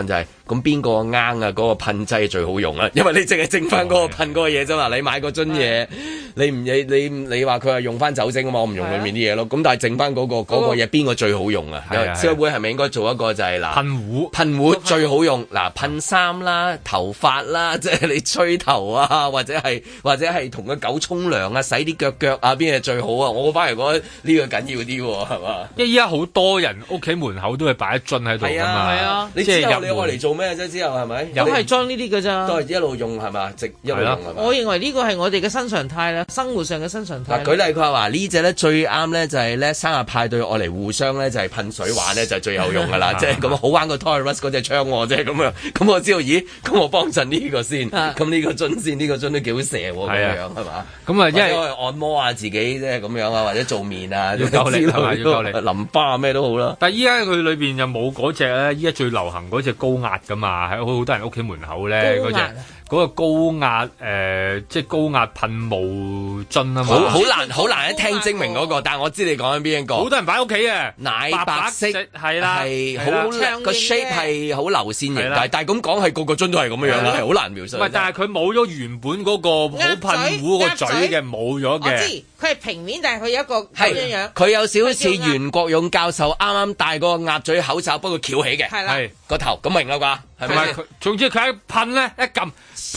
咁邊個啱啊？嗰個噴劑最好用啊，因為你淨係剩翻嗰個噴嗰個嘢啫嘛。你買嗰樽嘢，你話佢係用翻酒精啊嘛，我唔用裡面啲嘢咯。咁但係剩翻嗰個嘢邊個最好用啊？消委會係咪應該做一個就係嗱噴壺最好用嗱，噴衫啦、頭髮啦，即係你吹頭啊，或者係同個狗沖涼啊、洗啲腳啊，邊嘢最好啊？我反而覺得呢個緊要啲喎，係嘛？因為依家好多人屋企門口都係擺一樽喺度㗎嘛。係啊，你之後你愛嚟做咩啫？之後係咪？ 都係裝呢啲㗎咋？ 都係一路用係嘛？一路用係嘛？ 我認為呢個係我哋嘅新常態啦，生活上嘅新常態。 舉例佢話呢隻咧最啱咧就係咧生日派對愛嚟互相咧就係噴水玩咧就係最有用㗎啦，即係咁好玩過 Toys嗰隻槍喎，即係咁樣。咁我知道，咦？咁我幫襯呢個先，咁呢個樽先，呢個樽都幾好射喎，咁樣係嘛？咁啊，因為按摩下自己即係咁樣啊，或者做面啊，要夠力係嘛？要夠力，淋巴咩都好啦。但係依家佢裏邊又冇嗰隻咧，依家最流行嗰隻高壓㗎嘛，喺好多人屋企門口咧嗰隻。嗰個高壓即係高壓噴霧樽啊嘛，好難一聽精明嗰個，但係我知你講緊邊一個。好多人擺屋企嘅奶白色係啦，係好個 shape 係好流線型，但係咁講係個樽都係咁樣樣啦，係好難描述。唔係，但係佢冇咗原本嗰個好噴壺個嘴嘅，冇咗嘅。我知佢係平面，但係佢有一個咁樣樣。佢有少少似袁國勇教授啱啱戴個鴨嘴口罩，不過翹起嘅，係個頭咁明啦啩？係咪佢？總之佢一噴咧，一撳。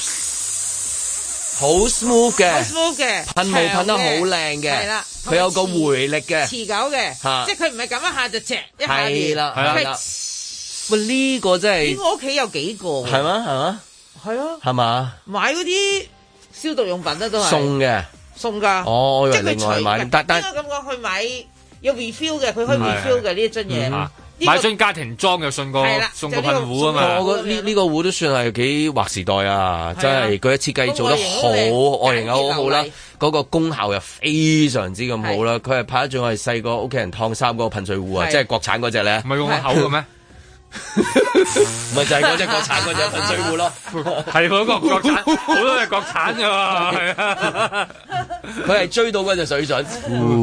好 smooth 嘅，噴霧噴得好靚嘅，係啦，佢有個回力嘅，持久嘅，即係佢唔係咁一下就隻一下嘅，係啦，喂呢個真係，我屋企有幾個，係嘛，係啊，係嘛，買嗰啲消毒用品咧都係送㗎，哦，即係佢除嘅，應該咁講，去買有 refill 嘅，佢可以 refill 嘅呢一樽嘢。買樽家庭裝又送個噴壺啊嘛！我覺得呢個壺都算係幾劃時代啊！真係佢嘅設計做得好，外形又好好啦，嗰個功效又非常之咁好啦。佢係拍得仲係細個屋企人燙衫嗰個噴水壺啊，即係國產嗰隻咧。唔係用個口嘅咩？咪就係嗰隻國產嗰隻噴水壺咯。係嗰個國產，好多係國產㗎嘛。係啊，佢係追到嗰隻水準。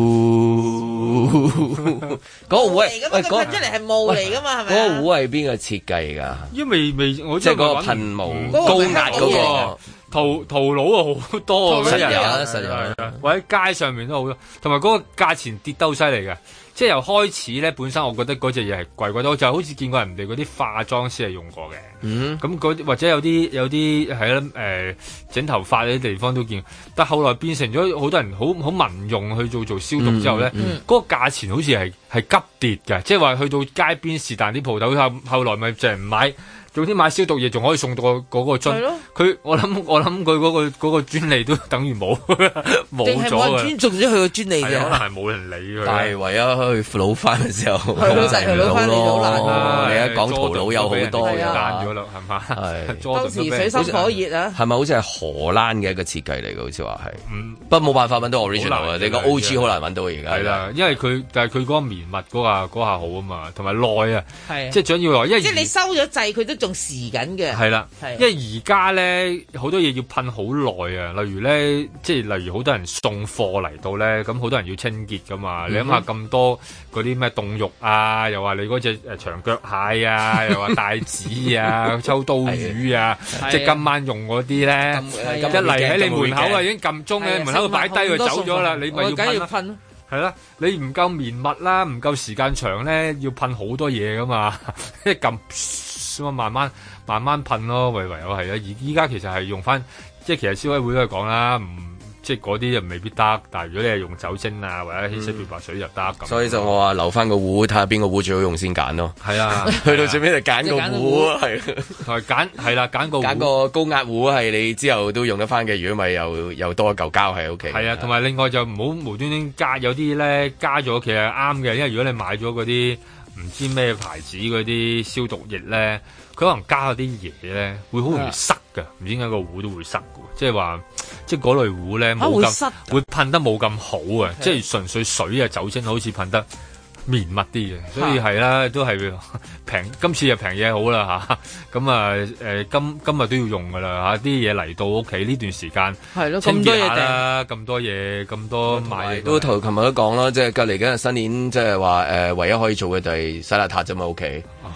嗰個壺係，喂，噴出嚟係霧嚟噶嘛？係咪？嗰個壺係邊個設計㗎？因為未，我即係嗰個噴霧高壓嗰個圖佬啊，好多啊！實有，或者街上面都好多，同埋嗰個價錢跌得好犀利嘅。即係由開始咧，本身我覺得嗰隻嘢係貴貴多，就好似見過人哋嗰啲化妝師係用過嘅。咁嗰啲或者有啲係啦，整頭髮嗰啲地方都見。但後來變成咗好多人好民用去做消毒之後咧，嗰個價錢好似係急跌嘅。即係話去到街邊是但啲鋪頭，後來咪就係唔買。總之買消毒嘢仲可以送到嗰個樽，佢我諗佢嗰個專利都等於冇咗嘅。尊重咗佢個專利嘅，可能係冇人理佢。但係唯一去老翻嘅時候，控制唔到咯。你一講淘佬有好多嘅，爛咗啦，係嘛？係當時水深火熱啊！係咪好似係荷蘭嘅一個設計嚟嘅？好似話係，不過冇辦法揾到 original 啊！你個 OG 好難揾到而家。係啦，因為但係佢嗰個綿密嗰下好啊嘛，同埋耐啊，即係最緊要耐，因為即係你收咗掣，佢都仲時緊嘅，係啦，因為而家咧好多嘢要噴好耐啊，例如咧，即係例如好多人送貨嚟到咧，咁好多人要清潔噶嘛，你諗下咁多嗰啲咩凍肉啊，又話你嗰隻長腳蟹啊，又話帶子啊、秋刀魚啊，即係今晚用嗰啲咧，一嚟喺你門口啊已經撳鐘咧，門口度擺低佢走咗啦，你咪要噴咯。係啦，你唔夠綿密啦，唔夠時間長咧，要噴好多嘢噶嘛，一撳咁啊，慢慢噴咯，唯有係啊。而依家其實係用翻，即係其實消委會都係講啦，即係嗰啲就未必得，但係如果你係用酒精啊或者稀釋漂白水就得咁。所以就我話留翻個壺，睇下邊個壺最好用先揀咯。係啊，去到最尾就揀個壺，係同埋揀個高壓壺係你之後都用得翻嘅。如果咪又多一嚿膠喺屋企。係啊，同埋另外就唔好無端端加，有啲咧加咗其實係啱嘅，因為如果你買咗嗰啲唔知咩牌子嗰啲消毒液咧，佢可能加嗰啲嘢咧，會好容易塞㗎，唔知點解個壺都會塞㗎，即係話，即係嗰類壺咧冇咁會噴得冇咁好啊，即係純粹水啊酒精好似噴得綿密啲嘅，所以係啦，都係平，今次就平嘢好啦嚇，咁啊今日都要用噶啦嚇，啲嘢嚟到屋企呢段時間係咯，咁多嘢訂，咁多嘢咁多買，都琴日都講啦，即係隔離緊新年，即係話唯一可以做嘅就係洗邋遢啫嘛屋企。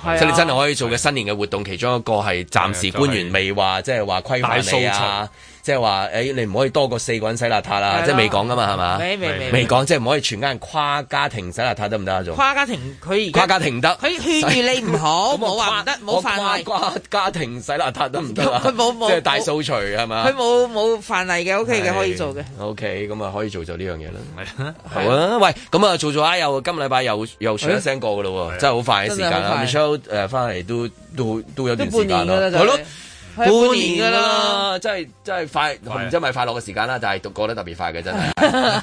即係你真係可以做嘅新年嘅活動，其中一個係暫時官員未話即係話規範你啊。即係話你唔可以多過4個人洗邋遢啦，即係未講噶嘛，係嘛？未講，即係唔可以全家人跨家庭洗邋遢得唔得啊？仲跨家庭佢而家跨家庭得，佢勸喻你唔好，冇話唔得，冇犯例。跨家庭洗邋遢得唔得啊？佢冇即係大掃除係嘛？佢冇犯例嘅 ，OK 嘅，可以做嘅。OK， 咁啊可以做就呢樣嘢啦。好啊，喂，咁啊做下又今個禮拜又傳一聲過噶咯喎，真係好快嘅時間啦。Michelle 翻嚟都有段時間啦，係咯。半年噶啦，真係快，唔知係咪快樂嘅時間啦，但係過得特別快嘅真係。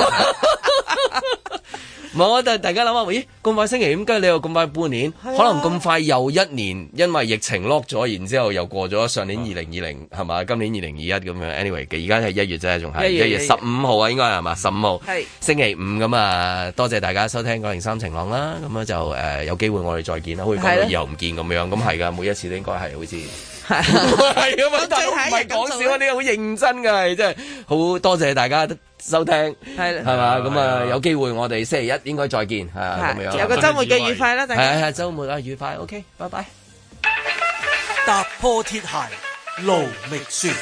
唔係我大家諗下，咦咁快星期五，跟住你又咁快半年，可能咁快又一年，因為疫情 lock 咗，然之後又過咗上年2020係嘛，今年2021咁樣。Anyway， 而家係1月啫，仲係1月15號啊，應該係嘛15號，星期五咁啊。多謝大家收聽903晴朗啦，咁啊就有機會我哋再見啦，好似講到以後唔見咁樣，咁係㗎，每一次都應該係好似。係啊嘛，大佬唔係講笑啊，呢個好認真噶，係真係好多謝大家收聽，係嘛，咁啊有機會我哋星期一應該再見，係啊咁樣，有個週末嘅愉快啦，大家係週末啊愉快 ，OK， 拜拜。踏破鐵鞋路未雪。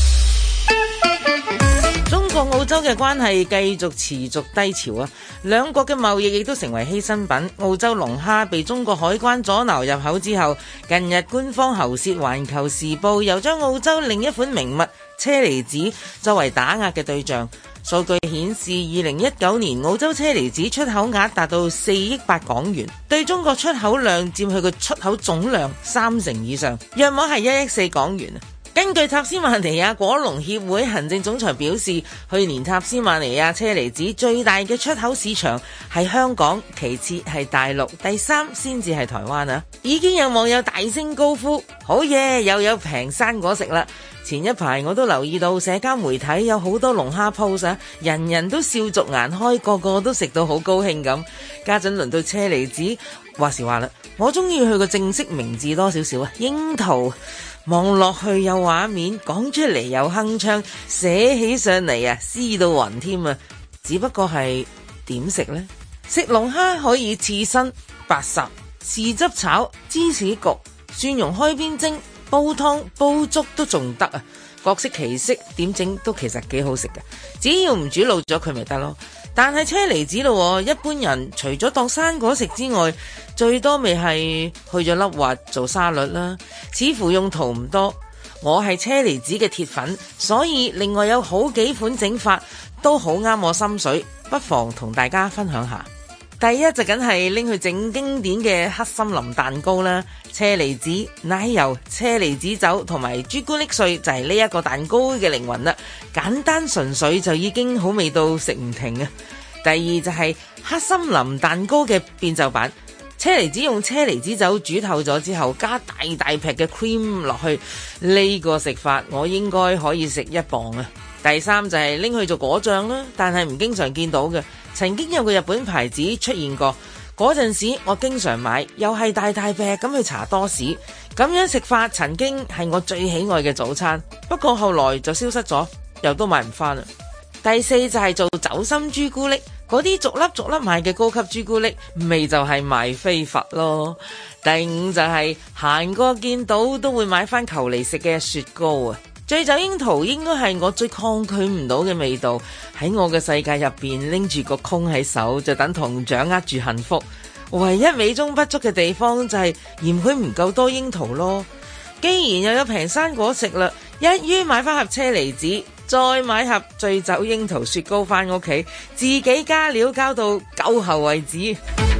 中國澳洲嘅關係繼續持續低潮啊！兩國嘅貿易亦都成為犧牲品。澳洲龍蝦被中國海關阻撓入口之後，近日官方喉舌《環球時報》又將澳洲另一款名物車厘子作為打壓嘅對象。數據顯示，2019年澳洲車厘子出口額達到4億8港元，對中國出口量佔佢嘅出口總量30%以上，約莫係1億4港元。根據塔斯曼尼亞果農協會行政總裁表示，去年塔斯曼尼亞車厘子最大嘅出口市場係香港，其次係大陸，第3先至係台灣啊！已經有網友大聲高呼：好嘢，又有平生果食啦！前一排我都留意到社交媒體有好多龍蝦 post 啊，人人都笑逐顏開，個個都食到好高興咁。家陣輪到車厘子，話時話啦，我中意佢個正式名字多少少啊，櫻桃。望落去有畫面，講出嚟有鏗鏘，寫起上嚟啊，詩到暈添啊！只不過係點食呢？食龍蝦可以刺身、白烚、豉汁炒、芝士焗、蒜蓉開邊蒸、煲湯、煲粥都仲得啊！各式其式，點整都其實幾好食嘅，只要唔煮老咗佢咪得咯。但係車厘子咯，一般人除咗當生果食之外，最多咪係去咗粒核做沙律啦，似乎用途唔多。我係車厘子嘅鐵粉，所以另外有好幾款整法都好啱我心水，不妨同大家分享下。第一就梗係拎去整經典嘅黑森林蛋糕啦，車厘子、奶油、車厘子酒同埋朱古力碎就係呢一個蛋糕嘅靈魂啦，簡單純粹就已經好味到食唔停啊！第二就係黑森林蛋糕嘅變奏版，車厘子用車厘子酒煮透咗之後，加大大劈嘅 cream 落去，呢個食法我應該可以食1磅啊！第三就係拎去做果醬啦，但係唔經常見到嘅。曾經有個日本牌子出現過，嗰陣時我經常買，又係大大劈咁去查多士，咁樣食法曾經係我最喜愛嘅早餐，不過後來就消失咗，又都買唔返啦。第四就係做酒心朱古力，嗰啲逐粒逐粒買嘅高級朱古力，味就係賣飛佛咯。第五就係行過見到都會買返球嚟食嘅雪糕啊！醉酒櫻桃應該係我最抗拒唔到嘅味道，喺我嘅世界入邊拎住個空喺手就等同掌握住幸福。唯一美中不足嘅地方就係嫌佢唔夠多櫻桃咯。既然又有平生果食啦，一於買翻盒車厘子，再買盒醉酒櫻桃雪糕翻屋企，自己加料交到夠喉為止。